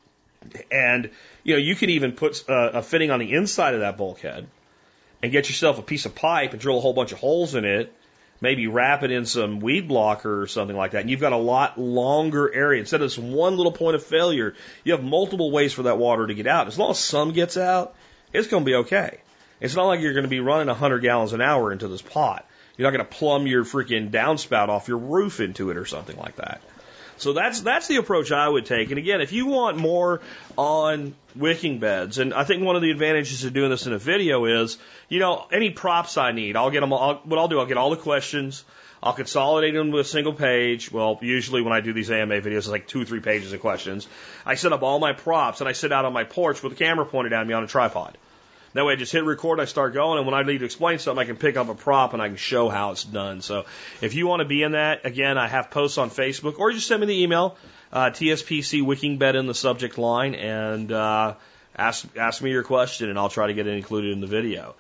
And, you can even put a fitting on the inside of that bulkhead and get yourself a piece of pipe and drill a whole bunch of holes in it, maybe wrap it in some weed blocker or something like that. And you've got a lot longer area. Instead of this one little point of failure, you have multiple ways for that water to get out. As long as some gets out, it's going to be okay. It's not like you're going to be running 100 gallons an hour into this pot. You're not going to plumb your freaking downspout off your roof into it or something like that. So that's the approach I would take. And again, if you want more on wicking beds, and I think one of the advantages of doing this in a video is, any props I need, I'll get them. What I'll do, I'll get all the questions, I'll consolidate them to a single page. Well, usually when I do these AMA videos, it's like 2 or 3 pages of questions. I set up all my props, and I sit out on my porch with the camera pointed at me on a tripod. That way I just hit record, I start going, and when I need to explain something, I can pick up a prop and I can show how it's done. So if you want to be in that, again, I have posts on Facebook, or just send me the email, TSPC Wicking Bed in the subject line, and ask me your question, and I'll try to get it included in the video.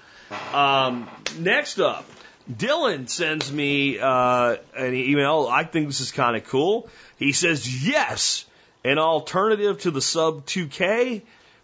Next up, Dylan sends me an email. I think this is kind of cool. He says, yes, an alternative to the Sub 2K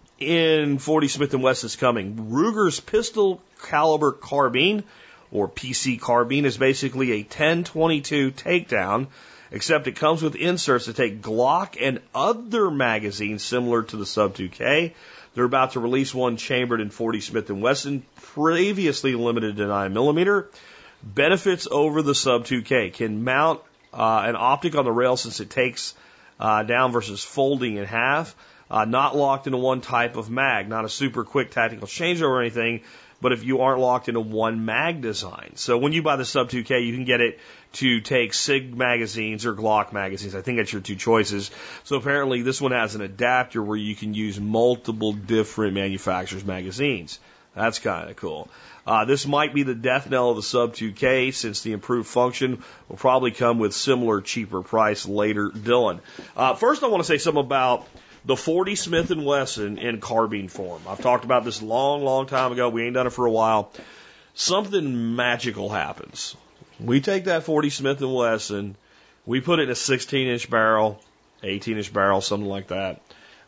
in 40 Smith & Wesson is coming. Ruger's pistol caliber carbine, or PC carbine, is basically a 10-22 takedown, except it comes with inserts that take Glock and other magazines similar to the Sub 2K. They're about to release one chambered in 40 Smith & Wesson, previously limited to 9mm. Benefits over the Sub 2K: can mount an optic on the rail since it takes down versus folding in half. Not locked into one type of mag, not a super quick tactical changeover or anything, but if you aren't locked into one mag design. So when you buy the Sub 2K, you can get it to take SIG magazines or Glock magazines. I think that's your 2 choices. So apparently this one has an adapter where you can use multiple different manufacturers' magazines. That's kind of cool. This might be the death knell of the Sub 2K, since the improved function will probably come with similar cheaper price later. Dylan. First I want to say something about the 40 Smith & Wesson in carbine form. I've talked about this long time ago. We ain't done it for a while. Something magical happens. We take that 40 Smith & Wesson, we put it in a 16-inch barrel, 18-inch barrel, something like that.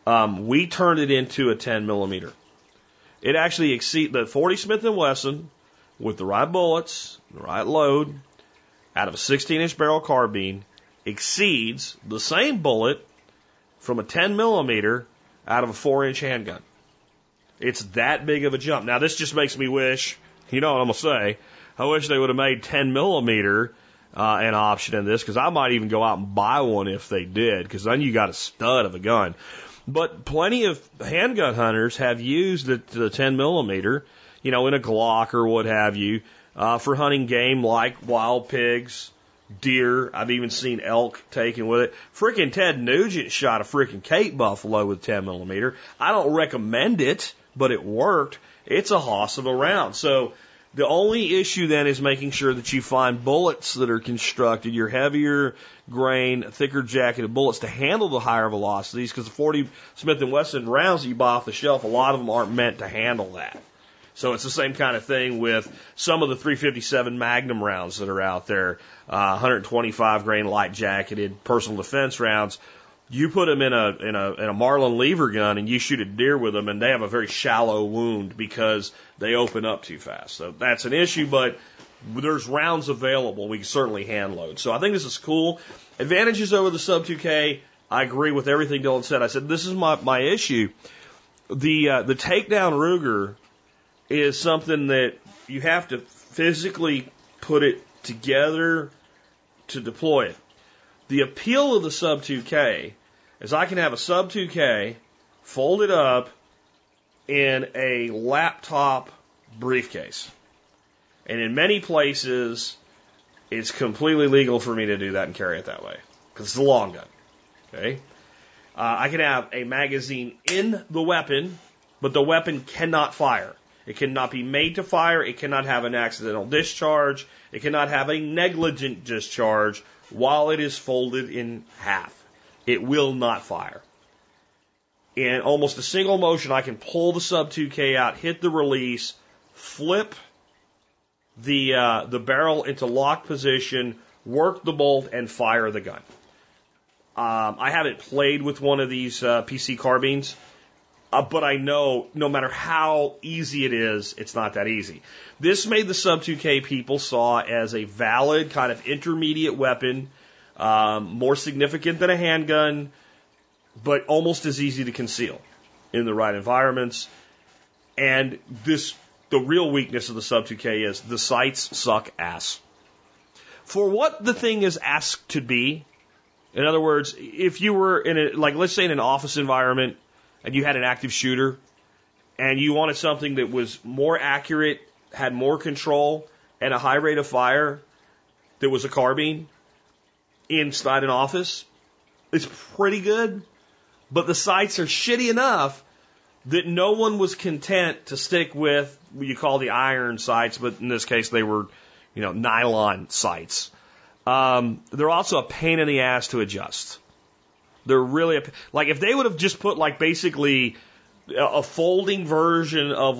We turned it into a 10mm. It actually exceeds the 40 Smith & Wesson with the right bullets, the right load, out of a 16-inch barrel carbine, exceeds the same bullet from a 10mm out of a 4-inch handgun. It's that big of a jump. Now, this just makes me wish, you know what I'm going to say, I wish they would have made 10mm an option in this, because I might even go out and buy one if they did, because then you got a stud of a gun. But plenty of handgun hunters have used the 10mm, in a Glock or what have you, for hunting game like wild pigs, deer. I've even seen elk taken with it. Frickin' Ted Nugent shot a frickin' Cape buffalo with 10mm. I don't recommend it, but it worked. It's a hoss of a round. So the only issue then is making sure that you find bullets that are constructed, your heavier grain, thicker jacketed bullets to handle the higher velocities, because the 40 Smith & Wesson rounds that you buy off the shelf, a lot of them aren't meant to handle that. So it's the same kind of thing with some of the 357 Magnum rounds that are out there, 125 grain light jacketed personal defense rounds. You put them in a Marlin lever gun and you shoot a deer with them, and they have a very shallow wound because they open up too fast. So that's an issue, but there's rounds available. We can certainly hand load. So I think this is cool. Advantages over the Sub 2K. I agree with everything Dylan said. I said this is my issue. The takedown Ruger is something that you have to physically put it together to deploy it. The appeal of the Sub 2K is I can have a Sub 2K folded up in a laptop briefcase. And in many places, it's completely legal for me to do that and carry it that way, because it's a long gun. Okay? I can have a magazine in the weapon, but the weapon cannot fire. It cannot be made to fire. It cannot have an accidental discharge. It cannot have a negligent discharge while it is folded in half. It will not fire. In almost a single motion, I can pull the Sub 2K out, hit the release, flip the barrel into lock position, work the bolt, and fire the gun. I haven't played with one of these PC carbines, but I know no matter how easy it is, it's not that easy. This made the Sub 2K people saw as a valid kind of intermediate weapon, more significant than a handgun, but almost as easy to conceal in the right environments. And the real weakness of the Sub 2K is the sights suck ass. For what the thing is asked to be, in other words, if you were in let's say in an office environment and you had an active shooter and you wanted something that was more accurate, had more control, and a high rate of fire, that was a carbine inside an office, it's pretty good. But the sights are shitty enough that no one was content to stick with what you call the iron sights, but in this case they were, nylon sights. They're also a pain in the ass to adjust. They're really if they would have just put basically a folding version of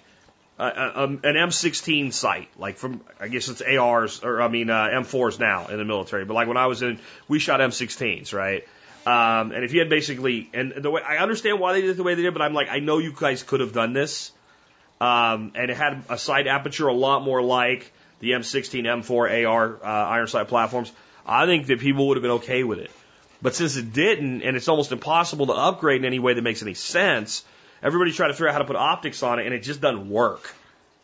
an M16 sight, from I guess it's ARs or M4s now in the military, but when I was we shot M16s, right? And if you had and the way I understand why they did it the way they did, but I know you guys could have done this, and it had a sight aperture a lot more like the M16, M4, AR iron sight platforms. I think that people would have been okay with it, but since it didn't, and it's almost impossible to upgrade in any way that makes any sense, everybody's trying to figure out how to put optics on it, and it just doesn't work.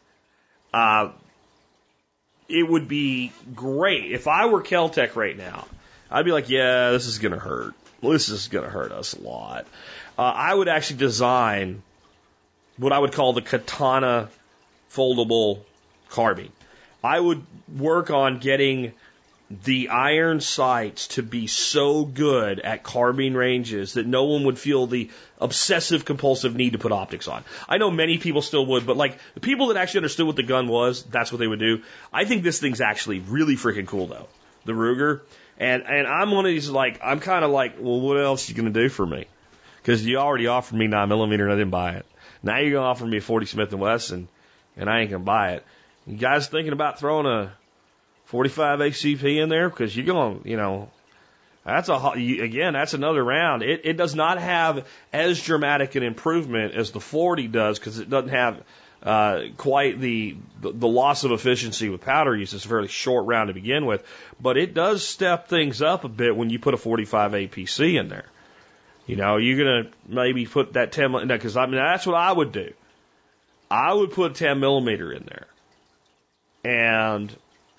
It would be great if I were Kel-Tec right now. I'd be like, yeah, this is gonna hurt. This is going to hurt us a lot. I would actually design what I would call the Katana foldable carbine. I would work on getting the iron sights to be so good at carbine ranges that no one would feel the obsessive compulsive need to put optics on. I know many people still would, but the people that actually understood what the gun was, that's what they would do. I think this thing's actually really freaking cool though. The Ruger. And I'm one of these, I'm kind of well, what else are you going to do for me? Because you already offered me 9mm and I didn't buy it. Now you're going to offer me a 40 Smith & Wesson and I ain't going to buy it. You guys thinking about throwing a 45 HCP in there? Because you're going, that's another round. It does not have as dramatic an improvement as the 40 does because it doesn't have quite the loss of efficiency with powder use. It's a fairly short round to begin with, but it does step things up a bit when you put a 45 APC in there. You're gonna maybe put that 10 because that's what I would do. I would put 10mm in there, and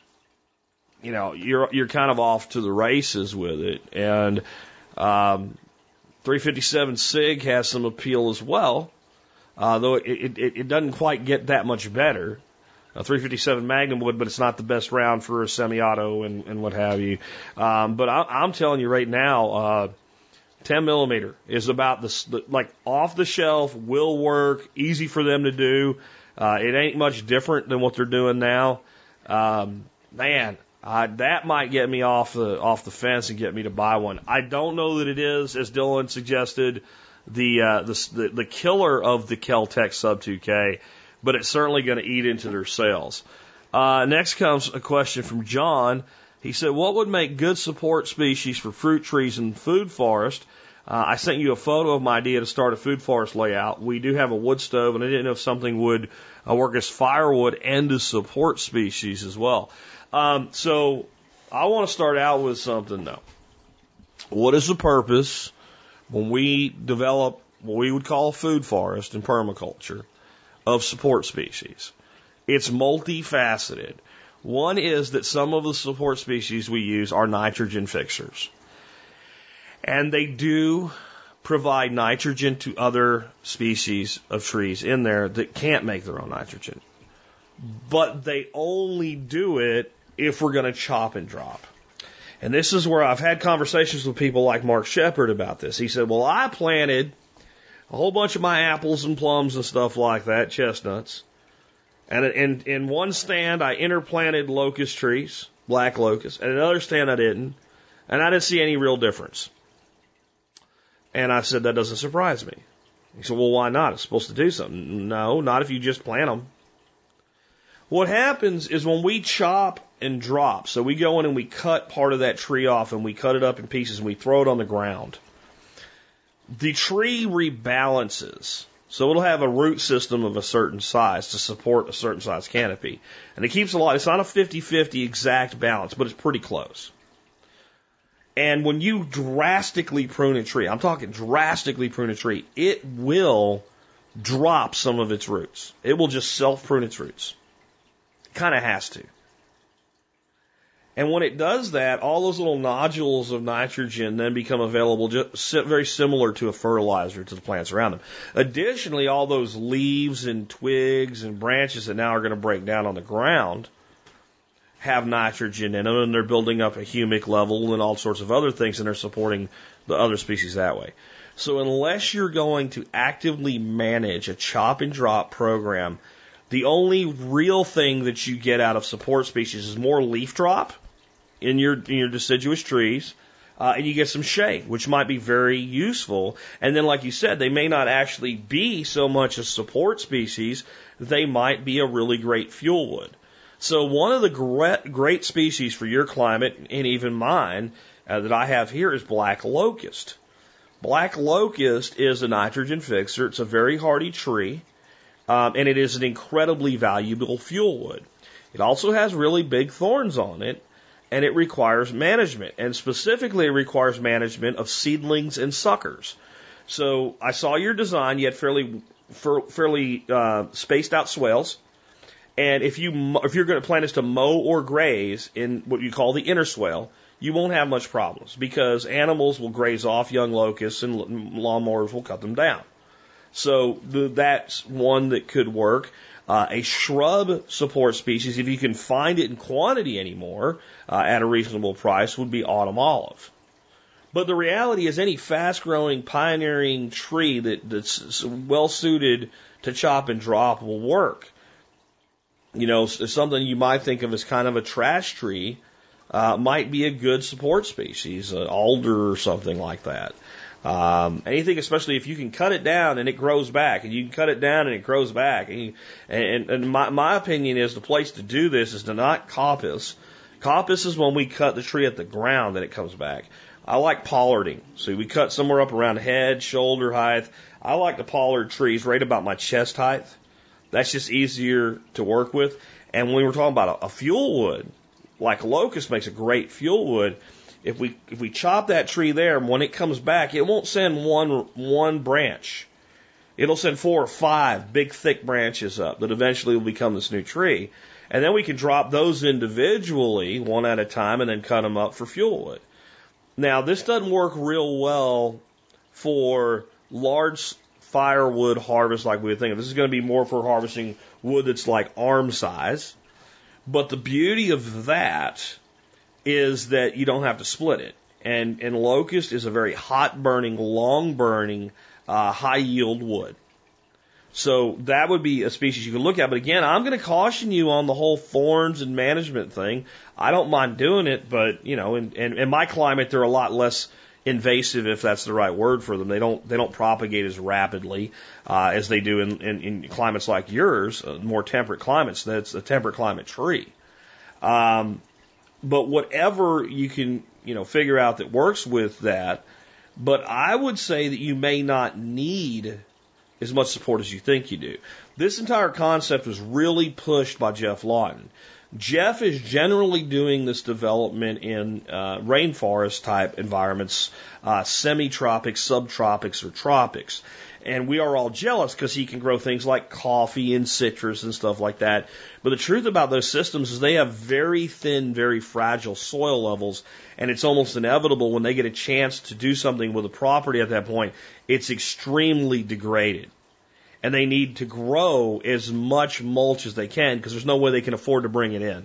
you're kind of off to the races with it. And 357 SIG has some appeal as well. Though it doesn't quite get that much better. A 357 Magnum would, but it's not the best round for a semi-auto and what have you. But I'm telling you right now, 10mm is about off the shelf, will work, easy for them to do. It ain't much different than what they're doing now. That might get me off the fence and get me to buy one. I don't know that it is, as Dylan suggested, the killer of the Kel-Tec Sub 2K, but it's certainly going to eat into their sales. Next comes a question from John. He said, what would make good support species for fruit trees and food forest? I sent you a photo of my idea to start a food forest layout. We do have a wood stove, and I didn't know if something would work as firewood and as support species as well. So I want to start out with something, though. What is the purpose when we develop what we would call a food forest in permaculture of support species. It's multifaceted. One is that some of the support species we use are nitrogen fixers. And they do provide nitrogen to other species of trees in there that can't make their own nitrogen. But they only do it if we're going to chop and drop. And this is where I've had conversations with people like Mark Shepard about this. He said, well, I planted a whole bunch of my apples and plums and stuff like that, chestnuts. And in one stand, I interplanted locust trees, black locust. And another stand, I didn't. And I didn't see any real difference. And I said, that doesn't surprise me. He said, well, why not? It's supposed to do something. No, not if you just plant them. What happens is when we chop and drop, so we go in and we cut part of that tree off and we cut it up in pieces and we throw it on the ground, the tree rebalances. So it'll have a root system of a certain size to support a certain size canopy. And it keeps a lot. It's not a 50-50 exact balance, but it's pretty close. And when you drastically prune a tree, I'm talking drastically prune a tree, it will drop some of its roots. It will just self-prune its roots. It kind of has to. And when it does that, all those little nodules of nitrogen then become available, just very similar to a fertilizer to the plants around them. Additionally, all those leaves and twigs and branches that now are going to break down on the ground have nitrogen in them, and they're building up a humic level and all sorts of other things, and they're supporting the other species that way. So unless you're going to actively manage a chop and drop program, the only real thing that you get out of support species is more leaf drop in your deciduous trees, and you get some shade, which might be very useful. And then, like you said, they may not actually be so much a support species, they might be a really great fuel wood. So one of the great species for your climate, and even mine, that I have here is black locust. Black locust is a nitrogen fixer. It's a very hardy tree, and it is an incredibly valuable fuel wood. It also has really big thorns on it, and it requires management, and specifically it requires management of seedlings and suckers. So I saw your design. You had fairly spaced out swales. And if you're going to plan this to mow or graze in what you call the inner swale, you won't have much problems because animals will graze off young locusts and lawnmowers will cut them down. So that's one that could work. A shrub support species, if you can find it in quantity anymore at a reasonable price, would be autumn olive. But the reality is any fast-growing, pioneering tree that's well-suited to chop and drop will work. You know, something you might think of as kind of a trash tree might be a good support species, alder or something like that. Anything, especially if you can cut it down and it grows back, and you can cut it down and it grows back. And my opinion is the place to do this is to not coppice. Coppice is when we cut the tree at the ground and it comes back. I like pollarding. So we cut somewhere up around head, shoulder height. I like to pollard trees right about my chest height. That's just easier to work with. And when we're talking about a fuel wood, like locust makes a great fuel wood, if we chop that tree there, when it comes back, it won't send one branch. It'll send 4 or 5 big, thick branches up that eventually will become this new tree. And then we can drop those individually, one at a time, and then cut them up for fuel wood. Now, this doesn't work real well for large firewood harvest like we would think of. This is going to be more for harvesting wood that's like arm size. But the beauty of that is that you don't have to split it. And locust is a very hot burning, long burning, high yield wood. So that would be a species you could look at. But again, I'm going to caution you on the whole thorns and management thing. I don't mind doing it, but you know, in my climate, they're a lot less invasive, if that's the right word for them. They don't propagate as rapidly as they do in climates like yours, more temperate climates. That's a temperate climate tree. But whatever you can, figure out that works with that. But I would say that you may not need as much support as you think you do. This entire concept was really pushed by Jeff Lawton. Jeff is generally doing this development in rainforest type environments, semi-tropics, subtropics, or tropics. And we are all jealous because he can grow things like coffee and citrus and stuff like that. But the truth about those systems is they have very thin, very fragile soil levels, and it's almost inevitable when they get a chance to do something with a property at that point, it's extremely degraded. And they need to grow as much mulch as they can because there's no way they can afford to bring it in.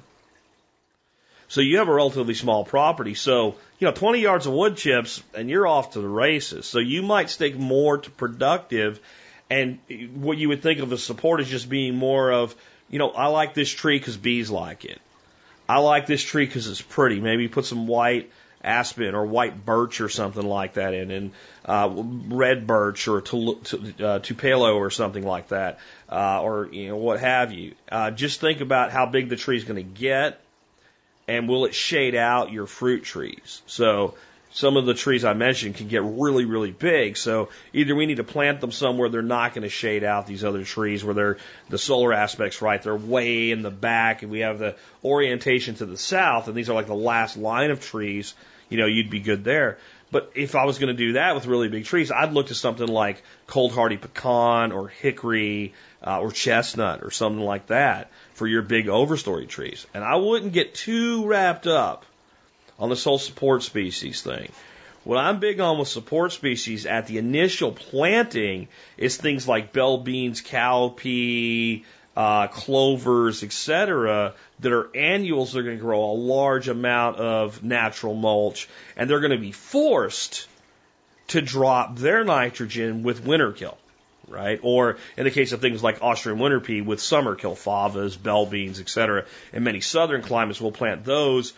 So you have a relatively small property. So, 20 yards of wood chips and you're off to the races. So you might stick more to productive. And what you would think of as support is just being more of, I like this tree because bees like it. I like this tree because it's pretty. Maybe put some white aspen or white birch or something like that in, and red birch or tupelo or something like that, or what have you. Just think about how big the tree is going to get, and will it shade out your fruit trees? So some of the trees I mentioned can get really, really big. So either we need to plant them somewhere they're not going to shade out these other trees where the solar aspect's right. They're way in the back, and we have the orientation to the south, and these are like the last line of trees. You'd be good there. But if I was going to do that with really big trees, I'd look to something like cold hardy pecan or hickory or chestnut or something like that for your big overstory trees. And I wouldn't get too wrapped up on this whole support species thing. What I'm big on with support species at the initial planting is things like bell beans, cowpea, clovers, etc., that are annuals. They're going to grow a large amount of natural mulch, and they're going to be forced to drop their nitrogen with winter kill, right? Or in the case of things like Austrian winter pea with summer kill, favas, bell beans, etc. In many southern climates, we'll plant those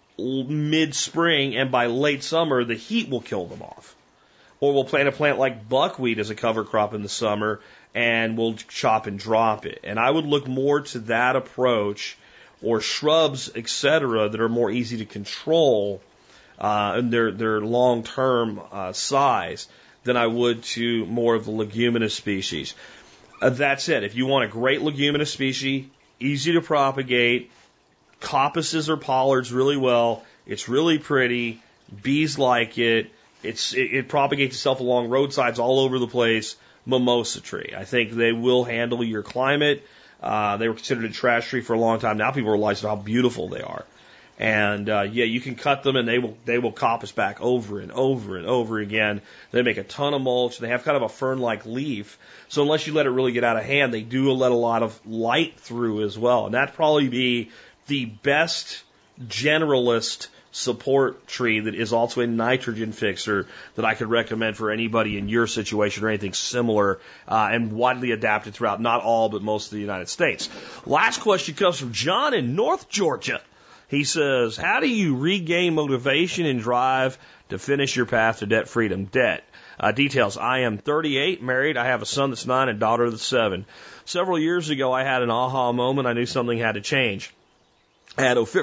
mid-spring, and by late summer, the heat will kill them off. Or we'll plant a plant like buckwheat as a cover crop in the summer, and we'll chop and drop it. And I would look more to that approach, or shrubs, etc., that are more easy to control in their long-term size, than I would to more of the leguminous species. That said, if you want a great leguminous species, easy to propagate, coppices or pollards really well, it's really pretty, bees like it, it propagates itself along roadsides all over the place, mimosa tree. I think they will handle your climate. They were considered a trash tree for a long time. Now people realize how beautiful they are. And you can cut them and they will coppice back over and over and over again. They make a ton of mulch. They have kind of a fern-like leaf. So unless you let it really get out of hand, they do let a lot of light through as well. And that'd probably be the best generalist support tree that is also a nitrogen fixer that I could recommend for anybody in your situation or anything similar, and widely adapted throughout not all but most of the United States. Last question comes from John in North Georgia. He says, how do you regain motivation and drive to finish your path to debt freedom? Details. I am 38, married. I have a son that's 9 and a daughter that's 7. Several years ago, I had an aha moment. I knew something had to change. I had over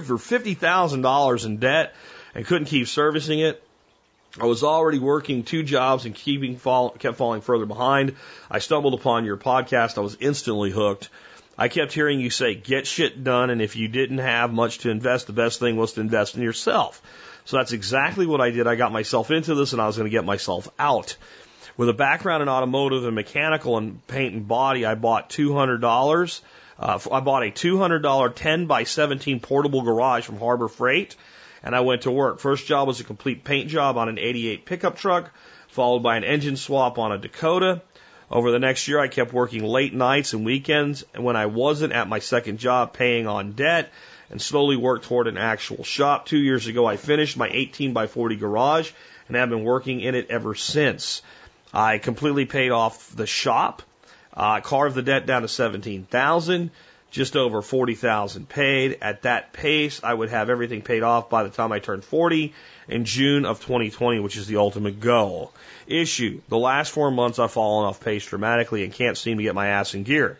$50,000 in debt and couldn't keep servicing it. I was already working 2 jobs and kept falling further behind. I stumbled upon your podcast. I was instantly hooked. I kept hearing you say, get shit done, and if you didn't have much to invest, the best thing was to invest in yourself. So that's exactly what I did. I got myself into this, and I was going to get myself out. With a background in automotive and mechanical and paint and body, I bought $200. I bought a $200 10 by 17 portable garage from Harbor Freight, and I went to work. First job was a complete paint job on an 88 pickup truck, followed by an engine swap on a Dakota. Over the next year, I kept working late nights and weekends, and when I wasn't at my second job, paying on debt, and slowly worked toward an actual shop. 2 years ago, I finished my 18 by 40 garage, and have been working in it ever since. I completely paid off the shop. Carved the debt down to $17,000, just over $40,000 paid. At that pace, I would have everything paid off by the time I turned 40 in June of 2020, which is the ultimate goal. Issue: the last 4 months I've fallen off pace dramatically and can't seem to get my ass in gear.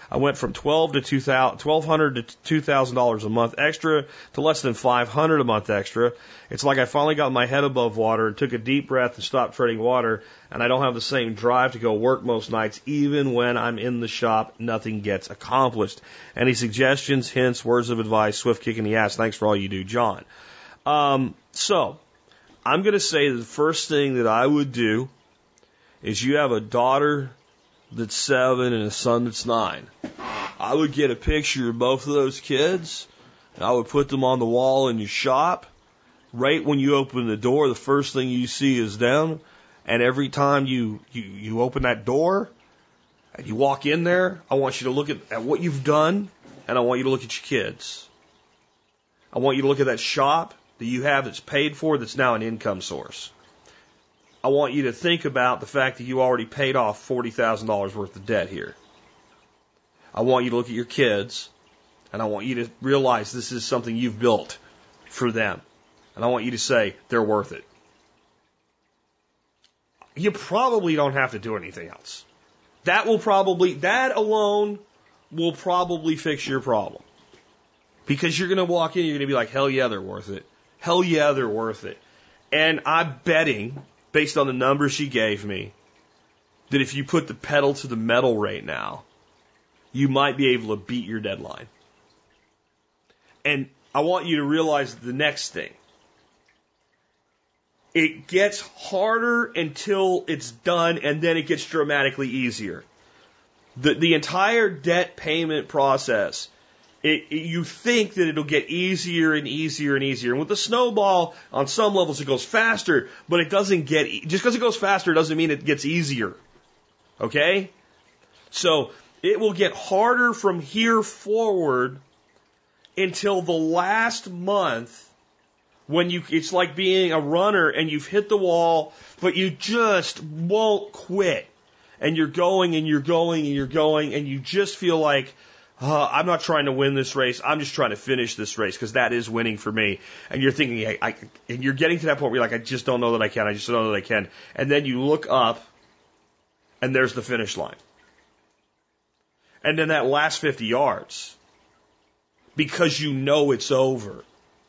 I went from $1,200 to $2,000 a month extra to less than $500 a month extra. It's like I finally got my head above water and took a deep breath and stopped treading water, and I don't have the same drive to go work most nights. Even when I'm in the shop, nothing gets accomplished. Any suggestions, hints, words of advice, swift kick in the ass? Thanks for all you do, John. So, I'm going to say the first thing that I would do is you have a daughter that's 7 and a son that's 9. I would get a picture of both of those kids, and I would put them on the wall in your shop. Right when you open the door, the first thing you see is them. And every time you open that door and you walk in there, I want you to look at what you've done, and I want you to look at your kids. I want you to look at that shop that you have that's paid for, that's now an income source. I want you to think about the fact that you already paid off $40,000 worth of debt here. I want you to look at your kids, and I want you to realize this is something you've built for them. And I want you to say, they're worth it. You probably don't have to do anything else. That alone will probably fix your problem. Because you're going to walk in, you're going to be like, hell yeah, they're worth it. Hell yeah, they're worth it. And I'm betting, based on the numbers she gave me, that if you put the pedal to the metal right now, you might be able to beat your deadline. And I want you to realize the next thing. It gets harder until it's done, and then it gets dramatically easier. The entire debt payment process, you think that it'll get easier and easier and easier. And with the snowball, on some levels, it goes faster, but it doesn't just because it goes faster doesn't mean it gets easier. Okay? So it will get harder from here forward until the last month. It's like being a runner and you've hit the wall, but you just won't quit. And you're going and you're going and you're going, and you just feel like, I'm not trying to win this race. I'm just trying to finish this race because that is winning for me. And you're thinking, and you're getting to that point where you're like, I just don't know that I can. I just don't know that I can. And then you look up and there's the finish line. And then that last 50 yards, because you know it's over,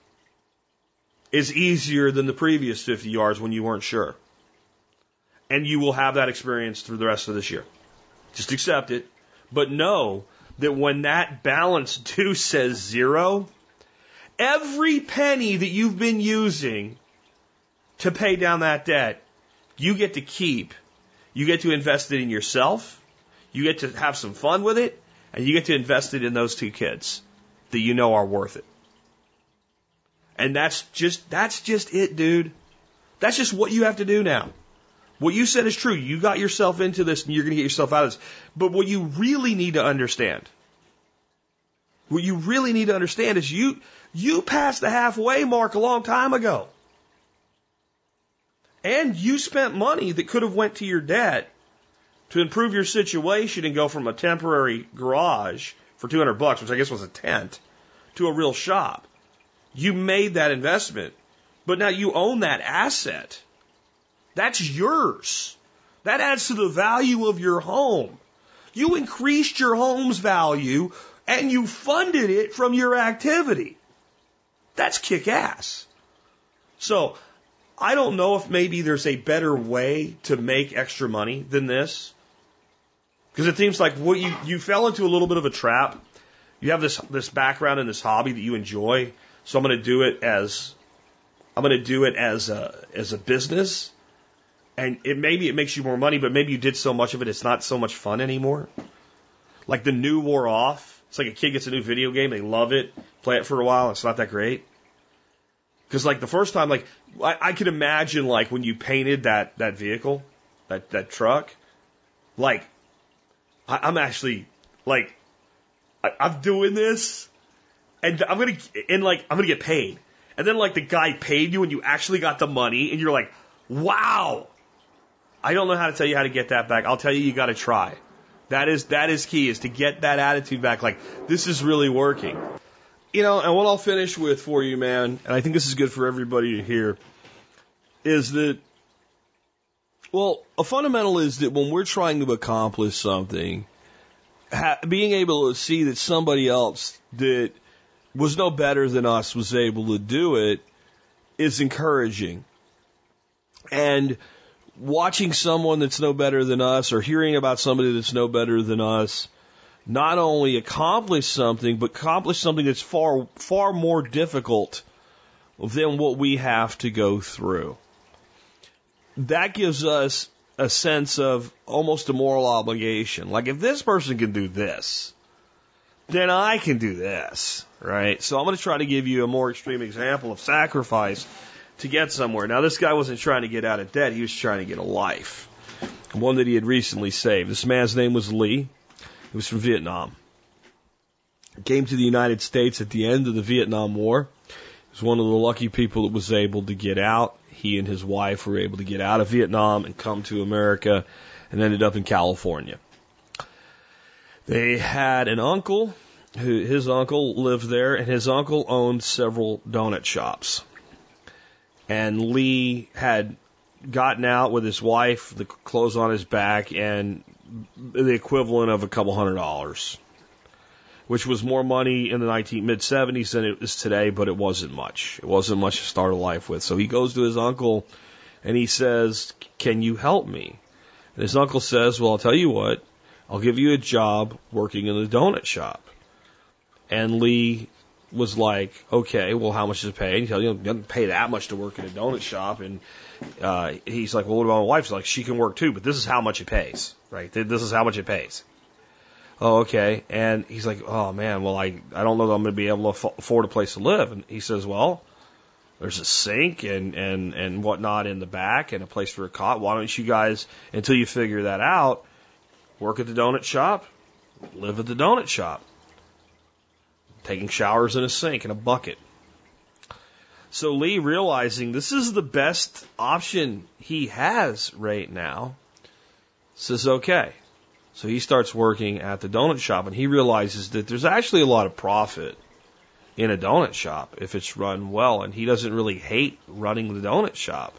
is easier than the previous 50 yards when you weren't sure. And you will have that experience through the rest of this year. Just accept it. But know that when that balance due says 0, every penny that you've been using to pay down that debt, you get to keep. You get to invest it in yourself. You get to have some fun with it. And you get to invest it in those 2 kids that you know are worth it. And that's just it, dude. That's just what you have to do now. What you said is true. You got yourself into this and you're going to get yourself out of this. But what you really need to understand, is you passed the halfway mark a long time ago. And you spent money that could have went to your debt to improve your situation and go from a temporary garage for $200, which I guess was a tent, to a real shop. You made that investment, but now you own that asset. That's yours. That adds to the value of your home. You increased your home's value and you funded it from your activity. That's kick-ass. So, I don't know if maybe there's a better way to make extra money than this. Because it seems like what you fell into a little bit of a trap. You have this background and this hobby that you enjoy. So I'm going to do it as a business, and maybe it makes you more money, but maybe you did so much of it, it's not so much fun anymore. Like the new wore off. It's like a kid gets a new video game, they love it, play it for a while, it's not that great. Because like the first time, like I could imagine like when you painted that vehicle, that truck, like I'm actually like I'm doing this. And I'm gonna get paid. And then like the guy paid you and you actually got the money and you're like, wow. I don't know how to tell you how to get that back. I'll tell you gotta try. That is key, is to get that attitude back. Like, this is really working. You know, and what I'll finish with for you, man, and I think this is good for everybody to hear, is that, well, a fundamental is that when we're trying to accomplish something, being able to see that somebody else that was no better than us was able to do it is encouraging. And watching someone that's no better than us or hearing about somebody that's no better than us not only accomplish something, but accomplish something that's far, far more difficult than what we have to go through. That gives us a sense of almost a moral obligation. Like, if this person can do this, then I can do this, right? So I'm going to try to give you a more extreme example of sacrifice to get somewhere. Now, this guy wasn't trying to get out of debt. He was trying to get a life, one that he had recently saved. This man's name was Lee. He was from Vietnam. He came to the United States at the end of the Vietnam War. He was one of the lucky people that was able to get out. He and his wife were able to get out of Vietnam and come to America and ended up in California. They had an uncle, his uncle lived there, and his uncle owned several donut shops. And Lee had gotten out with his wife, the clothes on his back, and the equivalent of a couple $100, which was more money in the mid-70s than it is today, but it wasn't much. It wasn't much to start a life with. So he goes to his uncle and he says, "Can you help me?" And his uncle says, "Well, I'll tell you what, I'll give you a job working in the donut shop." And Lee was like, "Okay, well, how much does it pay?" And he tells you, "It doesn't pay that much to work in a donut shop." And he's like, "Well, what about my wife?" She's like, "She can work too, but this is how much it pays, right? This is how much it pays." "Oh, okay." And he's like, "Oh man, well, I don't know that I'm going to be able to afford a place to live." And he says, "Well, there's a sink and whatnot in the back and a place for a cot. Why don't you guys, until you figure that out, work at the donut shop, live at the donut shop, taking showers in a sink and a bucket." So Lee, realizing this is the best option he has right now, says, "Okay." So he starts working at the donut shop, and he realizes that there's actually a lot of profit in a donut shop if it's run well, and he doesn't really hate running the donut shop.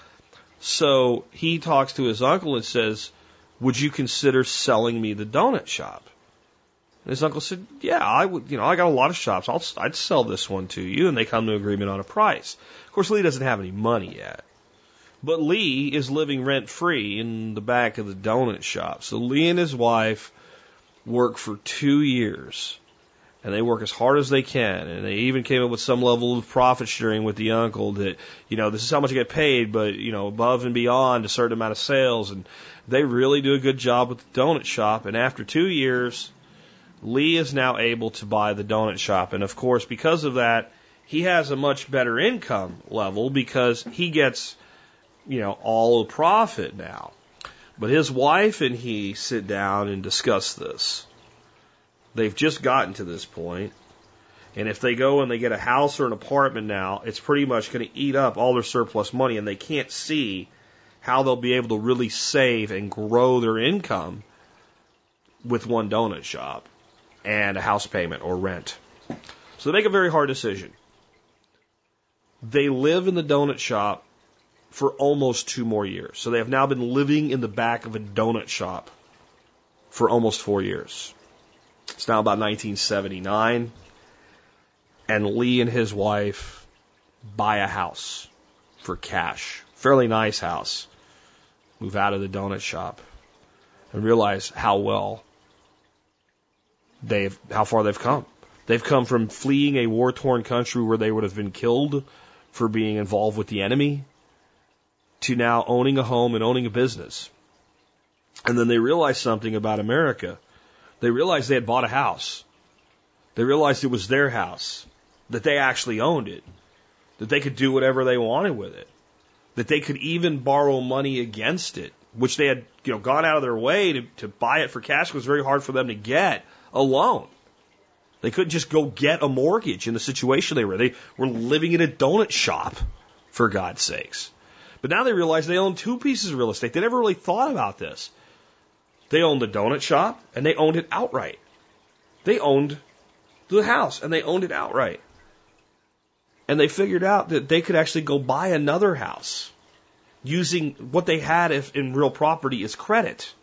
So he talks to his uncle and says, "Would you consider selling me the donut shop?" And his uncle said, "Yeah, I would. I got a lot of shops. I'd sell this one to you." And they come to an agreement on a price. Of course, Lee doesn't have any money yet. But Lee is living rent-free in the back of the donut shop. So Lee and his wife work for 2 years. And they work as hard as they can. And they even came up with some level of profit sharing with the uncle that, this is how much I get paid, but, above and beyond a certain amount of sales. And they really do a good job with the donut shop. And after 2 years, Lee is now able to buy the donut shop. And of course, because of that, he has a much better income level because he gets all the profit now. But his wife and he sit down and discuss this. They've just gotten to this point, and if they go and they get a house or an apartment now, it's pretty much going to eat up all their surplus money, and they can't see how they'll be able to really save and grow their income with one donut shop and a house payment or rent. So they make a very hard decision. They live in the donut shop for almost 2 more years. So they have now been living in the back of a donut shop for almost 4 years. It's now about 1979, and Lee and his wife buy a house for cash, fairly nice house, move out of the donut shop, and realize how far they've come. They've come from fleeing a war-torn country where they would have been killed for being involved with the enemy to now owning a home and owning a business. And then they realized something about America. They realized they had bought a house. They realized it was their house, that they actually owned it, that they could do whatever they wanted with it, that they could even borrow money against it, which they had gone out of their way to buy it for cash. It was very hard for them to get a loan. They couldn't just go get a mortgage in the situation they were. They were living in a donut shop, for God's sakes. But now they realize they own 2 pieces of real estate. They never really thought about this. They owned the donut shop, and they owned it outright. They owned the house, and they owned it outright. And they figured out that they could actually go buy another house using what they had in real property as credit.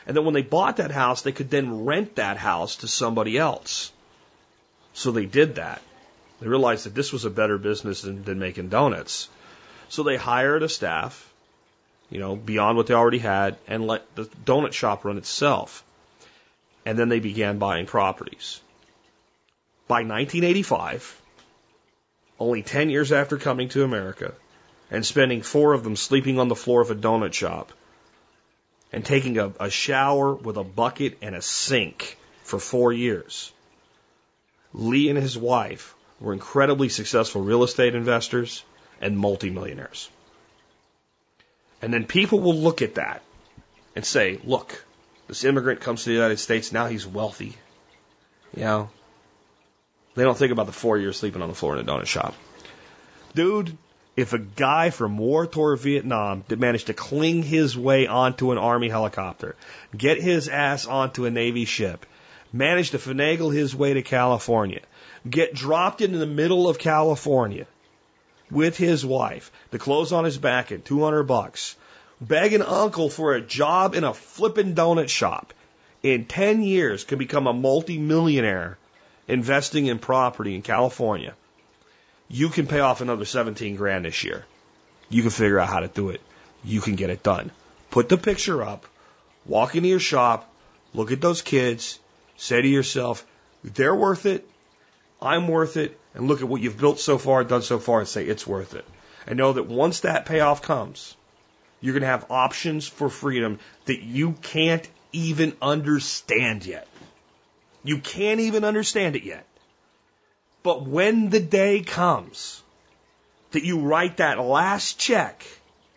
And then when they bought that house, they could then rent that house to somebody else. So they did that. They realized that this was a better business than making donuts. So they hired a staff, beyond what they already had, and let the donut shop run itself. And then they began buying properties. By 1985, only 10 years after coming to America, and spending 4 of them sleeping on the floor of a donut shop, and taking a shower with a bucket and a sink for 4 years, Lee and his wife were incredibly successful real estate investors and multimillionaires. And then people will look at that and say, look, this immigrant comes to the United States, now he's wealthy. They don't think about the 4 years sleeping on the floor in a donut shop. Dude, if a guy from war-torn Vietnam that managed to cling his way onto an Army helicopter, get his ass onto a Navy ship, managed to finagle his way to California, get dropped into the middle of California with his wife, the clothes on his back at $200, beg an uncle for a job in a flippin' donut shop, in 10 years can become a multi-millionaire investing in property in California. You can pay off another 17 grand this year. You can figure out how to do it. You can get it done. Put the picture up, walk into your shop, look at those kids, say to yourself, they're worth it, I'm worth it, and look at what you've built so far, done so far, and say it's worth it. And know that once that payoff comes, you're going to have options for freedom that you can't even understand yet. You can't even understand it yet. But when the day comes that you write that last check,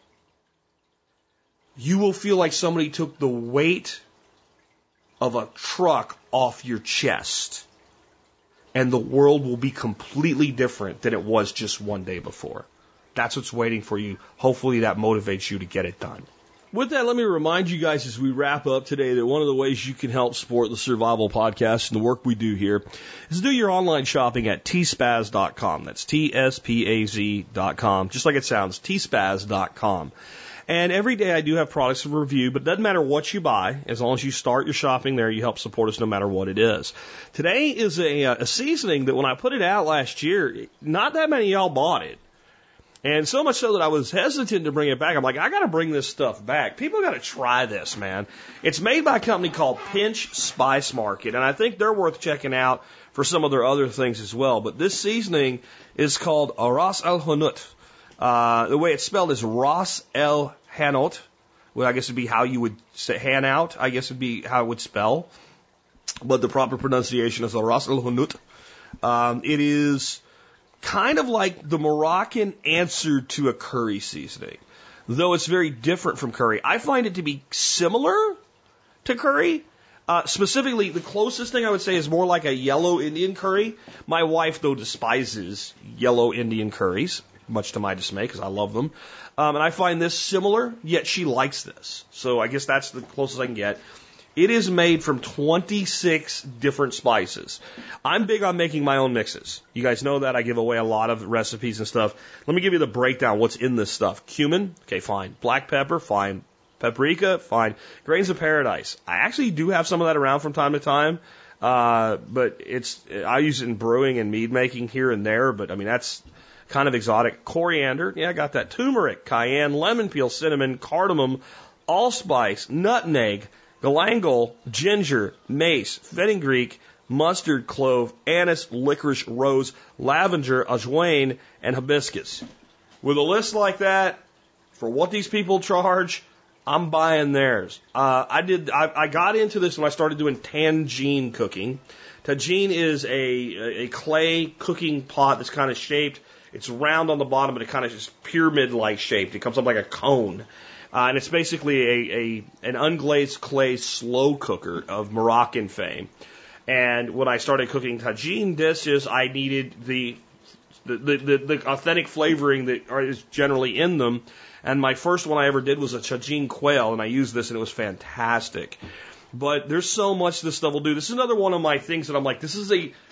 you will feel like somebody took the weight of a truck off your chest. And the world will be completely different than it was just one day before. That's what's waiting for you. Hopefully that motivates you to get it done. With that, let me remind you guys as we wrap up today that one of the ways you can help support the Survival Podcast and the work we do here is do your online shopping at tspaz.com. That's TSPAZ.com. Just like it sounds, tspaz.com. And every day I do have products to review, but it doesn't matter what you buy. As long as you start your shopping there, you help support us no matter what it is. Today is a seasoning that when I put it out last year, not that many of y'all bought it. And so much so that I was hesitant to bring it back. I'm like, I got to bring this stuff back. People got to try this, man. It's made by a company called Pinch Spice Market, and I think they're worth checking out for some of their other things as well. But this seasoning is called Ras El Hanout. The way it's spelled is Ras El Hanout. Well, I guess it'd be how you would say Hanout. I guess it'd be how it would spell. But the proper pronunciation is Ras El Hanout. It is kind of like the Moroccan answer to a curry seasoning, though it's very different from curry. I find it to be similar to curry. Specifically, the closest thing I would say is more like a yellow Indian curry. My wife, though, despises yellow Indian curries, much to my dismay, because I love them. And I find this similar, yet she likes this. So I guess that's the closest I can get. It is made from 26 different spices. I'm big on making my own mixes. You guys know that. I give away a lot of recipes and stuff. Let me give you the breakdown. What's in this stuff? Cumin, okay, fine. Black pepper, fine. Paprika, fine. Grains of paradise. I actually do have some of that around from time to time. But I use it in brewing and mead making here and there. But I mean, that's kind of exotic. Coriander, yeah, I got that. Turmeric, cayenne, lemon peel, cinnamon, cardamom, allspice, nutmeg, galangal, ginger, mace, fenugreek, mustard, clove, anise, licorice, rose, lavender, ajwain, and hibiscus. With a list like that, for what these people charge, I'm buying theirs. I got into this when I started doing tangine cooking. Tagine is a clay cooking pot that's kind of shaped. It's round on the bottom, but it kind of is pyramid-like shaped. It comes up like a cone. And it's basically an unglazed clay slow cooker of Moroccan fame. And when I started cooking tagine dishes, I needed the authentic flavoring that is generally in them. And my first one I ever did was a tagine quail, and I used this, and it was fantastic. But there's so much this stuff will do. This is another one of my things that I'm like, this is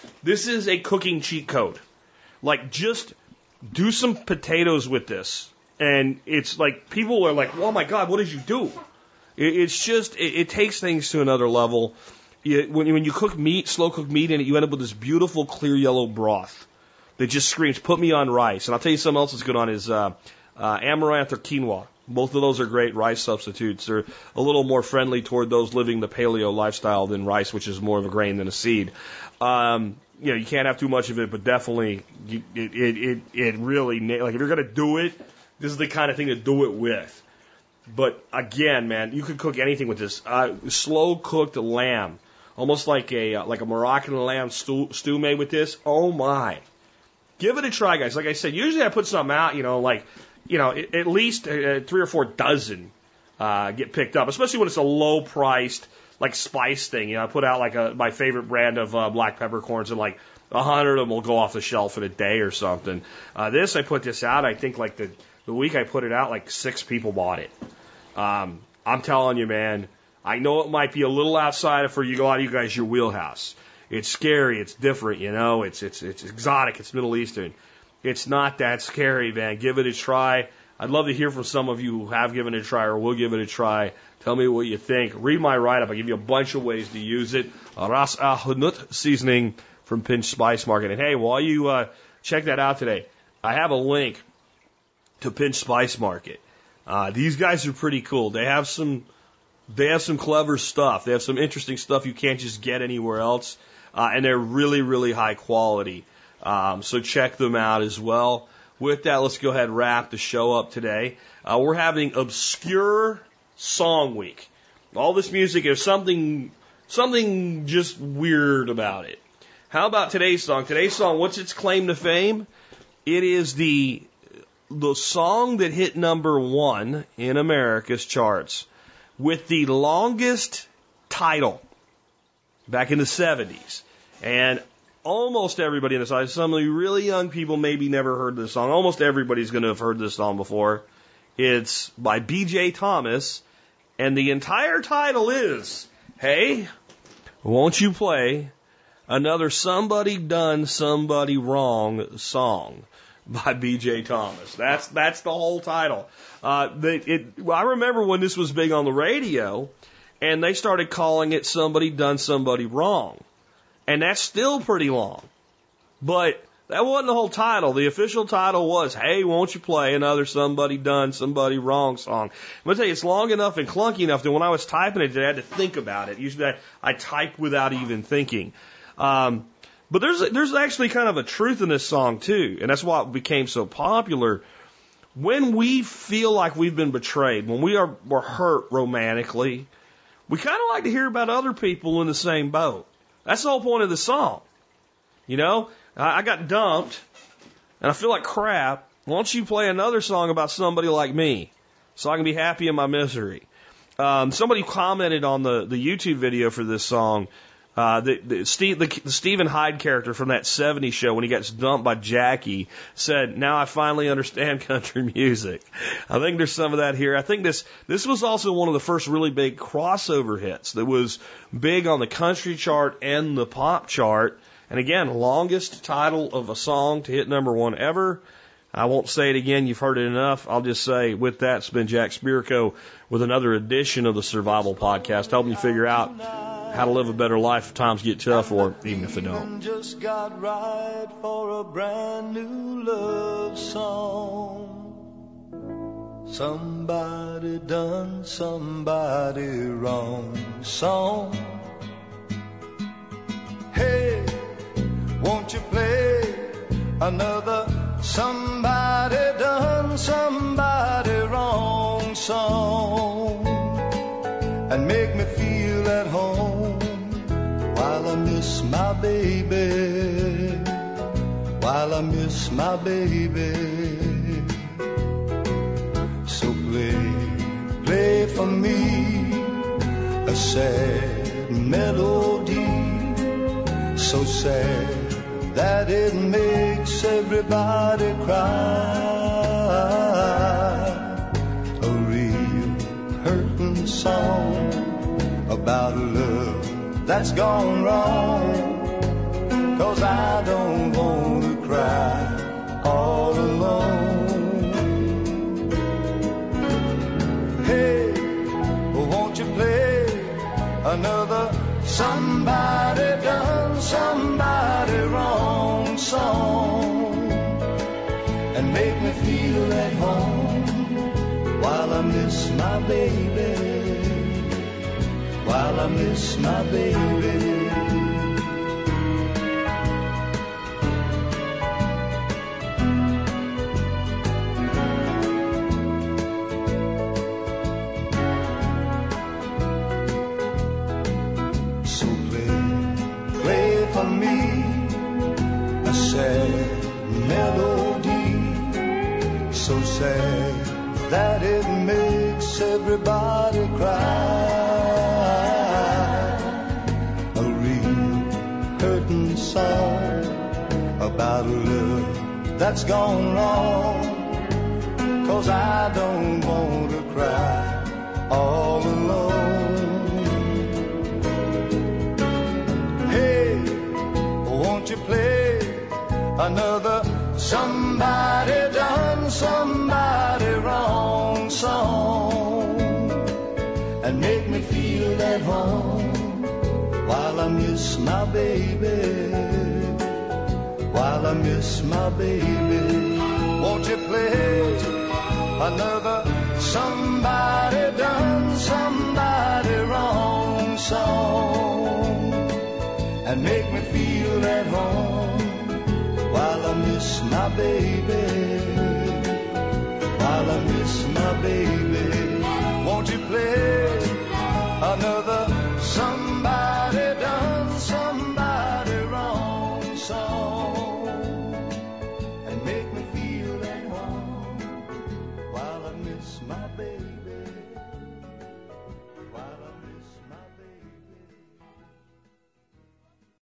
a cooking cheat code. Like, just do some potatoes with this. And it's like, people are like, oh my God, what did you do? It's just, it takes things to another level. When you cook meat, slow cook meat in it, you end up with this beautiful clear yellow broth that just screams, put me on rice. And I'll tell you something else that's good on is amaranth or quinoa. Both of those are great rice substitutes. They're a little more friendly toward those living the paleo lifestyle than rice, which is more of a grain than a seed. You can't have too much of it, but definitely it really, like if you're going to do it, this is the kind of thing to do it with. But again, man, you could cook anything with this. Slow cooked lamb, almost like a Moroccan lamb stew made with this. Oh my. Give it a try, guys. Like I said, usually I put something out, at least 3 or 4 dozen get picked up, especially when it's a low priced, like spice thing. I put out my favorite brand of black peppercorns, and like 100 of them will go off the shelf in a day or something. I put this out, I think like the week I put it out, like 6 people bought it. I'm telling you, man, I know it might be a little outside for you, a lot of you guys, your wheelhouse. It's scary, it's different, it's exotic, it's Middle Eastern. It's not that scary, man. Give it a try. I'd love to hear from some of you who have given it a try or will give it a try. Tell me what you think. Read my write-up. I give you a bunch of ways to use it. Ras Al Hanout seasoning from Pinch Spice Market. And hey, while you check that out today, I have a link to Pinch Spice Market. These guys are pretty cool. They have some clever stuff. They have some interesting stuff you can't just get anywhere else. And they're really, really high quality. So check them out as well. With that, let's go ahead and wrap the show up today. We're having Obscure Song Week. All this music, there's something just weird about it. How about today's song? Today's song, what's its claim to fame? It is the song that hit #1 in America's charts with the longest title back in the 70s. And almost everybody in this audience, some of you really young people maybe never heard this song. Almost everybody's going to have heard this song before. It's by B.J. Thomas, and the entire title is, Hey, Won't You Play Another Somebody Done Somebody Wrong Song by B.J. Thomas. That's the whole title. I remember when this was big on the radio, and they started calling it Somebody Done Somebody Wrong. And that's still pretty long. But that wasn't the whole title. The official title was, Hey, Won't You Play Another Somebody Done Somebody Wrong Song. I'm going to tell you, it's long enough and clunky enough that when I was typing it, I had to think about it. Usually I type without even thinking. But there's actually kind of a truth in this song, too. And that's why it became so popular. When we feel like we've been betrayed, when we're hurt romantically, we kind of like to hear about other people in the same boat. That's the whole point of the song. I got dumped, and I feel like crap. Why don't you play another song about somebody like me so I can be happy in my misery? Somebody commented on the YouTube video for this song. The Stephen Hyde character from that 70s show, when he gets dumped by Jackie, said, now I finally understand country music. I think there's some of that here. I think this was also one of the first really big crossover hits that was big on the country chart and the pop chart. And again, longest title of a song to hit #1 ever. I won't say it again. You've heard it enough. I'll just say, with that, it's been Jack Spirko with another edition of the Survival Podcast, helping you figure out how to live a better life if times get tough, or even if they don't. Just got right for a brand new love song. Somebody done somebody wrong song. Hey, won't you play another somebody done somebody wrong song, and make me feel at home while I miss my baby, while I miss my baby. So play for me a sad melody, so sad that it makes everybody cry. A real hurting song about a love that's gone wrong. 'Cause I don't want to cry all alone. Hey, won't another somebody done somebody wrong song, and make me feel at home while I miss my baby, while I miss my baby. So sad that it makes everybody cry. A real curtain song about a love that's gone wrong. 'Cause I don't want to cry all alone. Hey, won't you play another somebody done somebody wrong song, and make me feel at home while I miss my baby, while I miss my baby. Won't you play another somebody done somebody wrong song, and make me feel at home while I miss my baby, while I miss my baby. Won't you play another